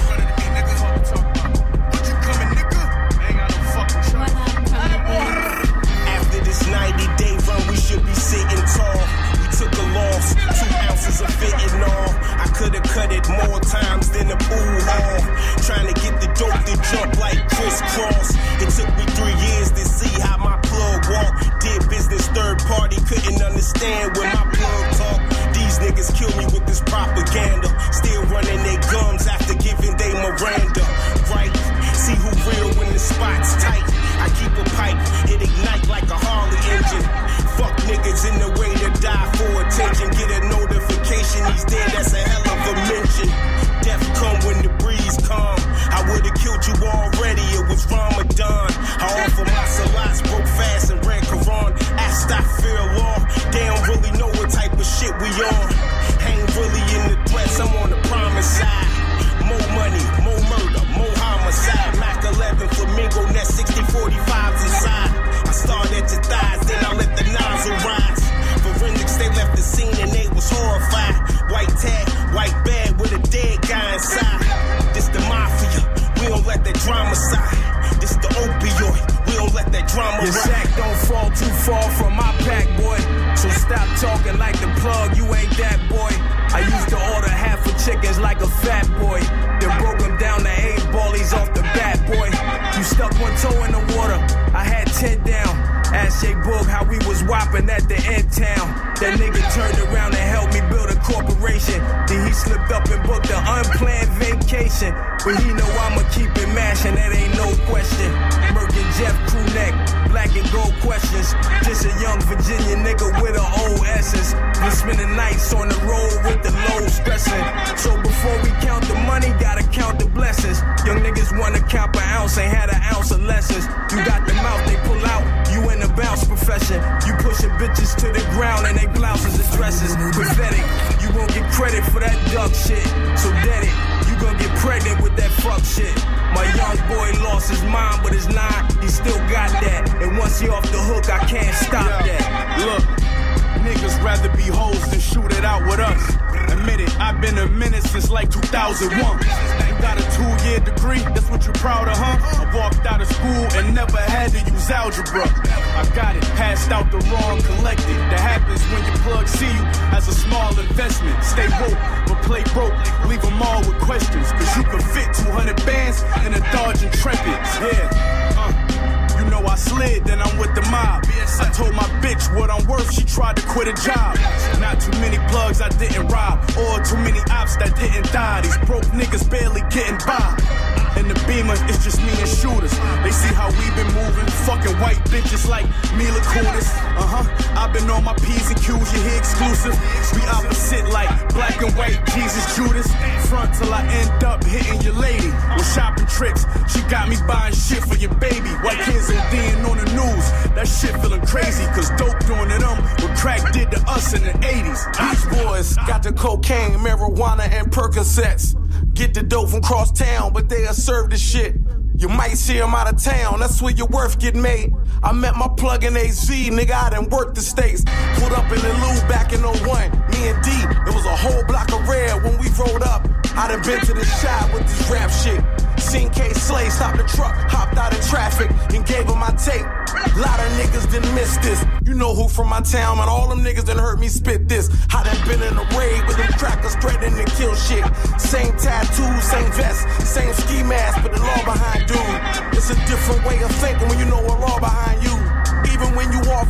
After this ninety day run, we should be sitting tall. We took a loss, two ounces of fentanyl. I could've cut it more times than the pool hall. Trying to get the dope to jump like crisscross. It took me three years to see how my plug walked. Did business third party, couldn't understand when my plug talked. These niggas kill me with this propaganda. Still running their gums after giving they Miranda. Right? See who real when the spot's tight. I keep a pipe, it ignite like a Harley engine. Fuck niggas in the way to die for attention. Get a notification he's dead, that's a hell of a mention. Death come when the breeze come. I would've killed you already, it was Ramadan. I offer my salats, broke fast and ran Quran. Astaghfirullah, they don't really know what type of shit we on. Ain't really in the threats, I'm on the promise side. More money, more murder, more homicide. Mac eleven, Flamingo, net sixty forty-fives inside. I started at your thighs, then I let the nozzle rise. Forensics, they left the scene and they was horrified. White tag, white bag with a dead guy inside. This the mafia, we don't let that drama side. This the opioid, we don't let that drama Your ride. sack don't fall too far from my pack, boy. So stop talking like the plug, you ain't that boy. I used to order half of chickens like a fat boy. Then broke them down to eight ballies off the bat, boy. You stuck one toe in the water, I had ten down. Ask Jay Boog how we was whopping at the end town. That nigga turned around and helped me build a corporation. Then he slipped up and booked an unplanned vacation. But he know I'ma keep it mashing, that ain't no question. Merc and Jeff crew neck, black and gold questions. Just a young Virginia nigga with an old essence. Been spending nights on the road with the low stressing. So before we count the money, gotta count the blessings. Young niggas wanna count per ounce, ain't had an ounce of lessons. You got the mouth, they pull out, you in the bounce profession. You pushing bitches to the ground and they blouses and dresses. Pathetic, you won't get credit for that duck shit. So dead it, you gon' get pregnant with that fuck shit. My young boy lost his mind, but his nine, he still got that. And once he off the hook, I can't stop yeah. that. Look, niggas rather be hoes than shoot it out with us. Admit it, I've been a minute since like two thousand one. You got a two-year degree, that's what you proud of, huh? I walked out of school and never had to use algebra. I got it, passed out the wrong collected. That happens when your plug see you as a small investment. Stay woke, but play broke. Leave them all with questions, cause you can fit two hundred bands in a Dodge Intrepid. Yeah, uh. You know I slid, then I'm with the mob. I told my bitch what I'm worth, she tried to quit a job. Not too many plugs I didn't rob, or too many ops that didn't die. These broke niggas barely getting by. In the Beamer, it's just me and shooters. They see how we been moving, fucking white bitches like Mila Kunis. Uh-huh, I've been on my P's and Q's, you hear exclusive. We opposite like black and white Jesus Judas. Front till I end up hitting your lady. With shopping trips, she got me buying shit for your baby. White kids ODing on the news, that shit feeling crazy. Cause dope doing to them what crack did to us in the eighties. These boys got the cocaine, marijuana, and Percocets. Get the dope from cross town, but they'll serve the shit. You might see them out of town, that's where your worth get made. I met my plug in A Z, nigga, I done worked the states. Put up in the Lou back in oh one, me and D, it was a whole block of red when we rolled up. I done been to the shop with this rap shit. Seen K Slay stop the truck, hopped out of traffic, and gave him my tape. Lot of niggas done missed this. You know who from my town, man, all them niggas done heard me spit this. I done been in a raid with them crackers threatening to kill shit. Same tattoos, same vest, same ski mask, but the law behind dude. It's a different way of thinking when you know what law behind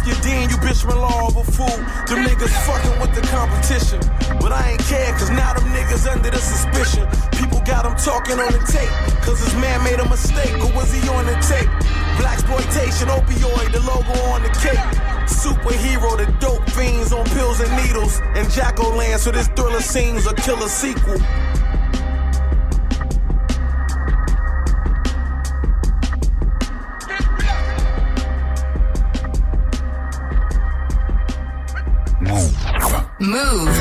off your dean, you bitch law of a fool. Them niggas fucking with the competition. But I ain't care, cause now them niggas under the suspicion. People got him talking on the tape, cause his man made a mistake, or was he on the tape? Blaxploitation, opioid, the logo on the cake. Superhero, the dope fiends on pills and needles. And Jacko-Land, so this thriller seems a killer sequel. Move.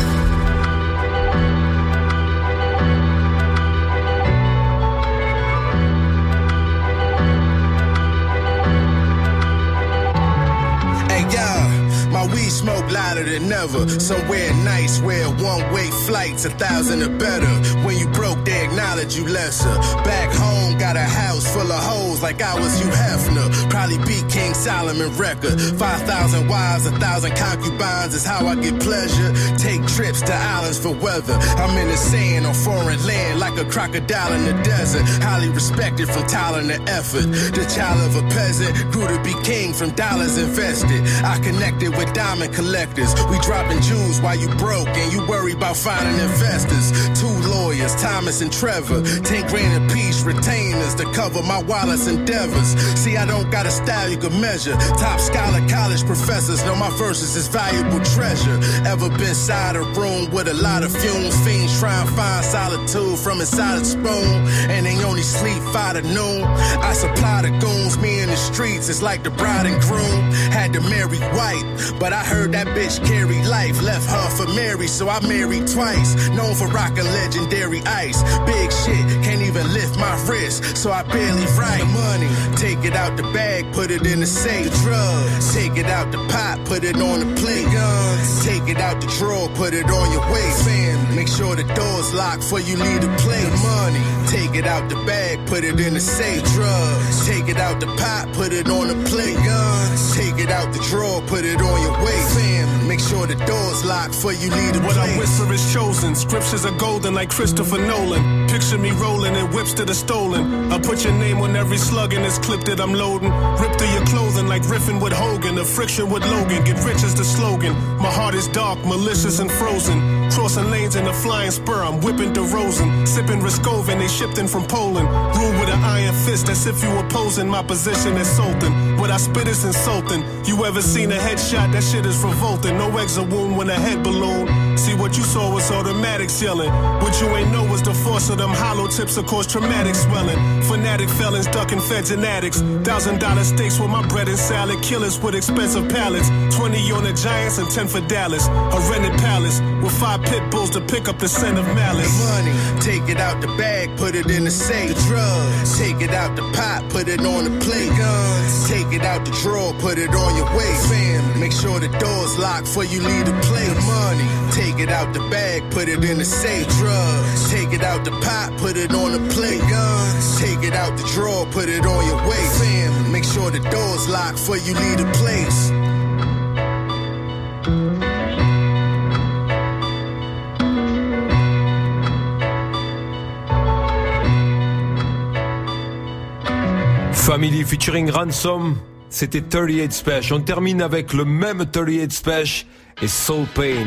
My weed smoke louder than ever. Somewhere nice where one-way flights a thousand or better. When you broke, they acknowledge you lesser. Back home, got a house full of hoes like I was Hugh Hefner. Probably beat King Solomon record. Five thousand wives, a thousand concubines is how I get pleasure. Take trips to islands for weather. I'm in the sand on foreign land like a crocodile in the desert. Highly respected from talent and effort. The child of a peasant grew to be king from dollars invested. I connected with diamond collectors. We dropping jewels while you broke and you worry about finding investors. Two lawyers, Thomas and Trevor. Ten grand a piece, retainers to cover my Wallace endeavors. See, I don't got a style you can measure. Top scholar, college professors know my verses is valuable treasure. Ever been inside a room with a lot of fumes? Fiends try and find solitude from inside a spoon. And they only sleep five to noon. I supply the goons, me in the streets. It's like the bride and groom had to marry white. But I heard that bitch carry life. Left her for Mary, so I married twice. Known for rocking legendary ice. Big shit, can't even lift my wrist, so I barely write. Money, take it out the bag, put it in the safe. The drugs, take it out the pot, put it on the plate. Guns, take it out the drawer, put it on your waist. Family, make sure the door's locked before you leave the place. The money, take it out the bag, put it in the safe. Drugs, take it out the pot, put it on the plate. Guns, take it out the drawer, put it on your waist. Family, make sure the door's locked before you leave the what place. I whisper is chosen. Scriptures are golden like Christopher Nolan. Picture me rolling in whips that are stolen. I put your name on every slug in this clip that I'm loading. Rip through your clothing like riffing with Hogan. The friction with Logan. Get rich is the slogan. My heart is dark, malicious and frozen. Crossing lanes in a flying spur. I'm whipping DeRozan. Sipping Riscoven. They shipped in from Poland. Rule with an iron fist. That's if you opposing my position as Sultan. What I spit is insulting. You ever seen a headshot? That shit is revolting. No exit wound when a head balloon. See what you saw was automatics yelling. What you ain't know was the force of them hollow tips that cause traumatic swelling. Fanatic felons ducking feds and addicts. Thousand dollar steaks with my bread and salad. Killers with expensive pallets. Twenty on the Giants and ten for Dallas. A rented palace with five pit bulls to pick up the scent of malice. The money, take it out the bag, put it in the safe. The drugs, take it out the pot, put it on the plate. Guns, take it out the drawer, put it on your waist. Family, make sure the door's locked before you leave the place. The money, take it out the bag, put it in the safe. Drugs, take it out the pot, put it on the plate. Guns, take it out the drawer, put it on your waist. Family, make sure the door's locked before you leave the place. Family featuring Ransom, c'était thirty-eight Special. On termine avec le même thirty-eight Special et Soul Pain.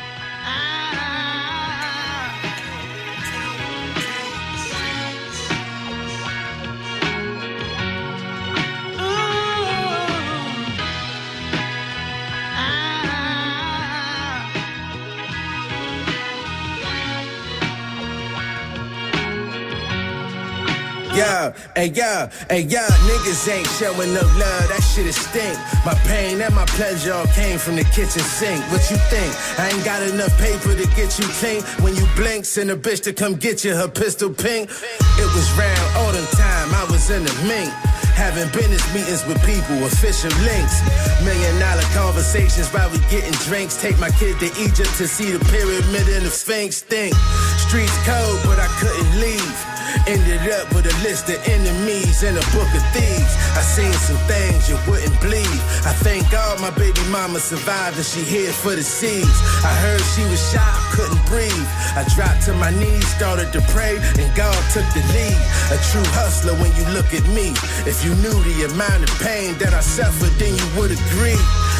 Yeah, hey, yeah, hey, yeah, niggas ain't showing no love, that shit is stink. My pain and my pleasure all came from the kitchen sink. What you think? I ain't got enough paper to get you clean. When you blink, send a bitch to come get you, her pistol pink. It was round autumn time, I was in the mink. Having business meetings with people, official links. Million dollar conversations while we getting drinks. Take my kid to Egypt to see the pyramid and the Sphinx. Think streets cold, but I couldn't leave. Ended up with a list of enemies and a book of thieves. I seen some things you wouldn't believe. I thank God my baby mama survived and she here for the seeds. I heard she was shot, couldn't breathe. I dropped to my knees, started to pray, and God took the lead. A true hustler when you look at me. If you knew the amount of pain that I suffered, then you would agree.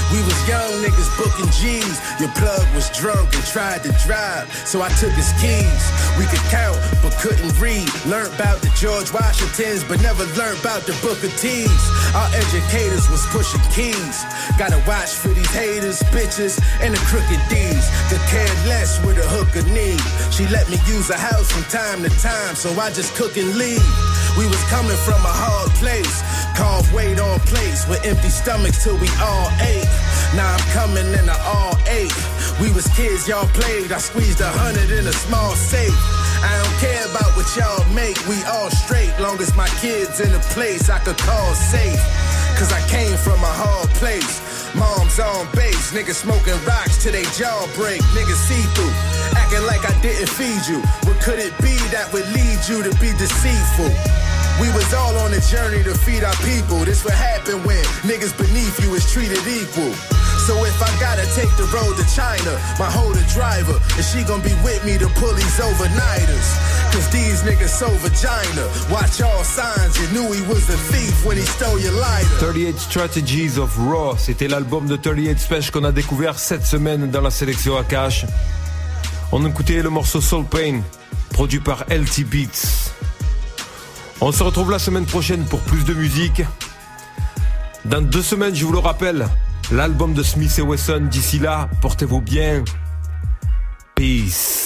We was young niggas booking G's. Your plug was drunk and tried to drive, so I took his keys. We could count, but couldn't read. Learned about the George Washingtons, but never learned about the Booker T's. Our educators was pushing keys. Gotta watch for these haters, bitches, and the crooked D's. Could care less with a hooker need. She let me use her house from time to time, so I just cook and leave. We was coming from a hard place. Carved weight on plates with empty stomachs till we all ate. Now I'm coming in the all eight. We was kids, y'all played. I squeezed a hundred in a small safe. I don't care about what y'all make. We all straight, long as my kids in a place I could call safe. Cause I came from a hard place. Mom's on base, niggas smoking rocks till they jaw break. Niggas see through, acting like I didn't feed you. What could it be that would lead you to be deceitful? We was all on a journey to feed our people. This what happen when niggas beneath you is treated equal. So if I gotta take the road to China, my holder driver, and she gon' be with me to pull these overnighters. Cause these niggas so vagina. Watch all signs, you knew he was a thief when he stole your lighter. thirty-eight Strategies of Raw, c'était l'album de thirty-eight Special qu'on a découvert cette semaine dans la sélection Akash. On écoutait le morceau Soul Pain, produit par L T Beats. On se retrouve la semaine prochaine pour plus de musique. Dans deux semaines, je vous le rappelle, l'album de Smith et Wesson. D'ici là, portez-vous bien. Peace.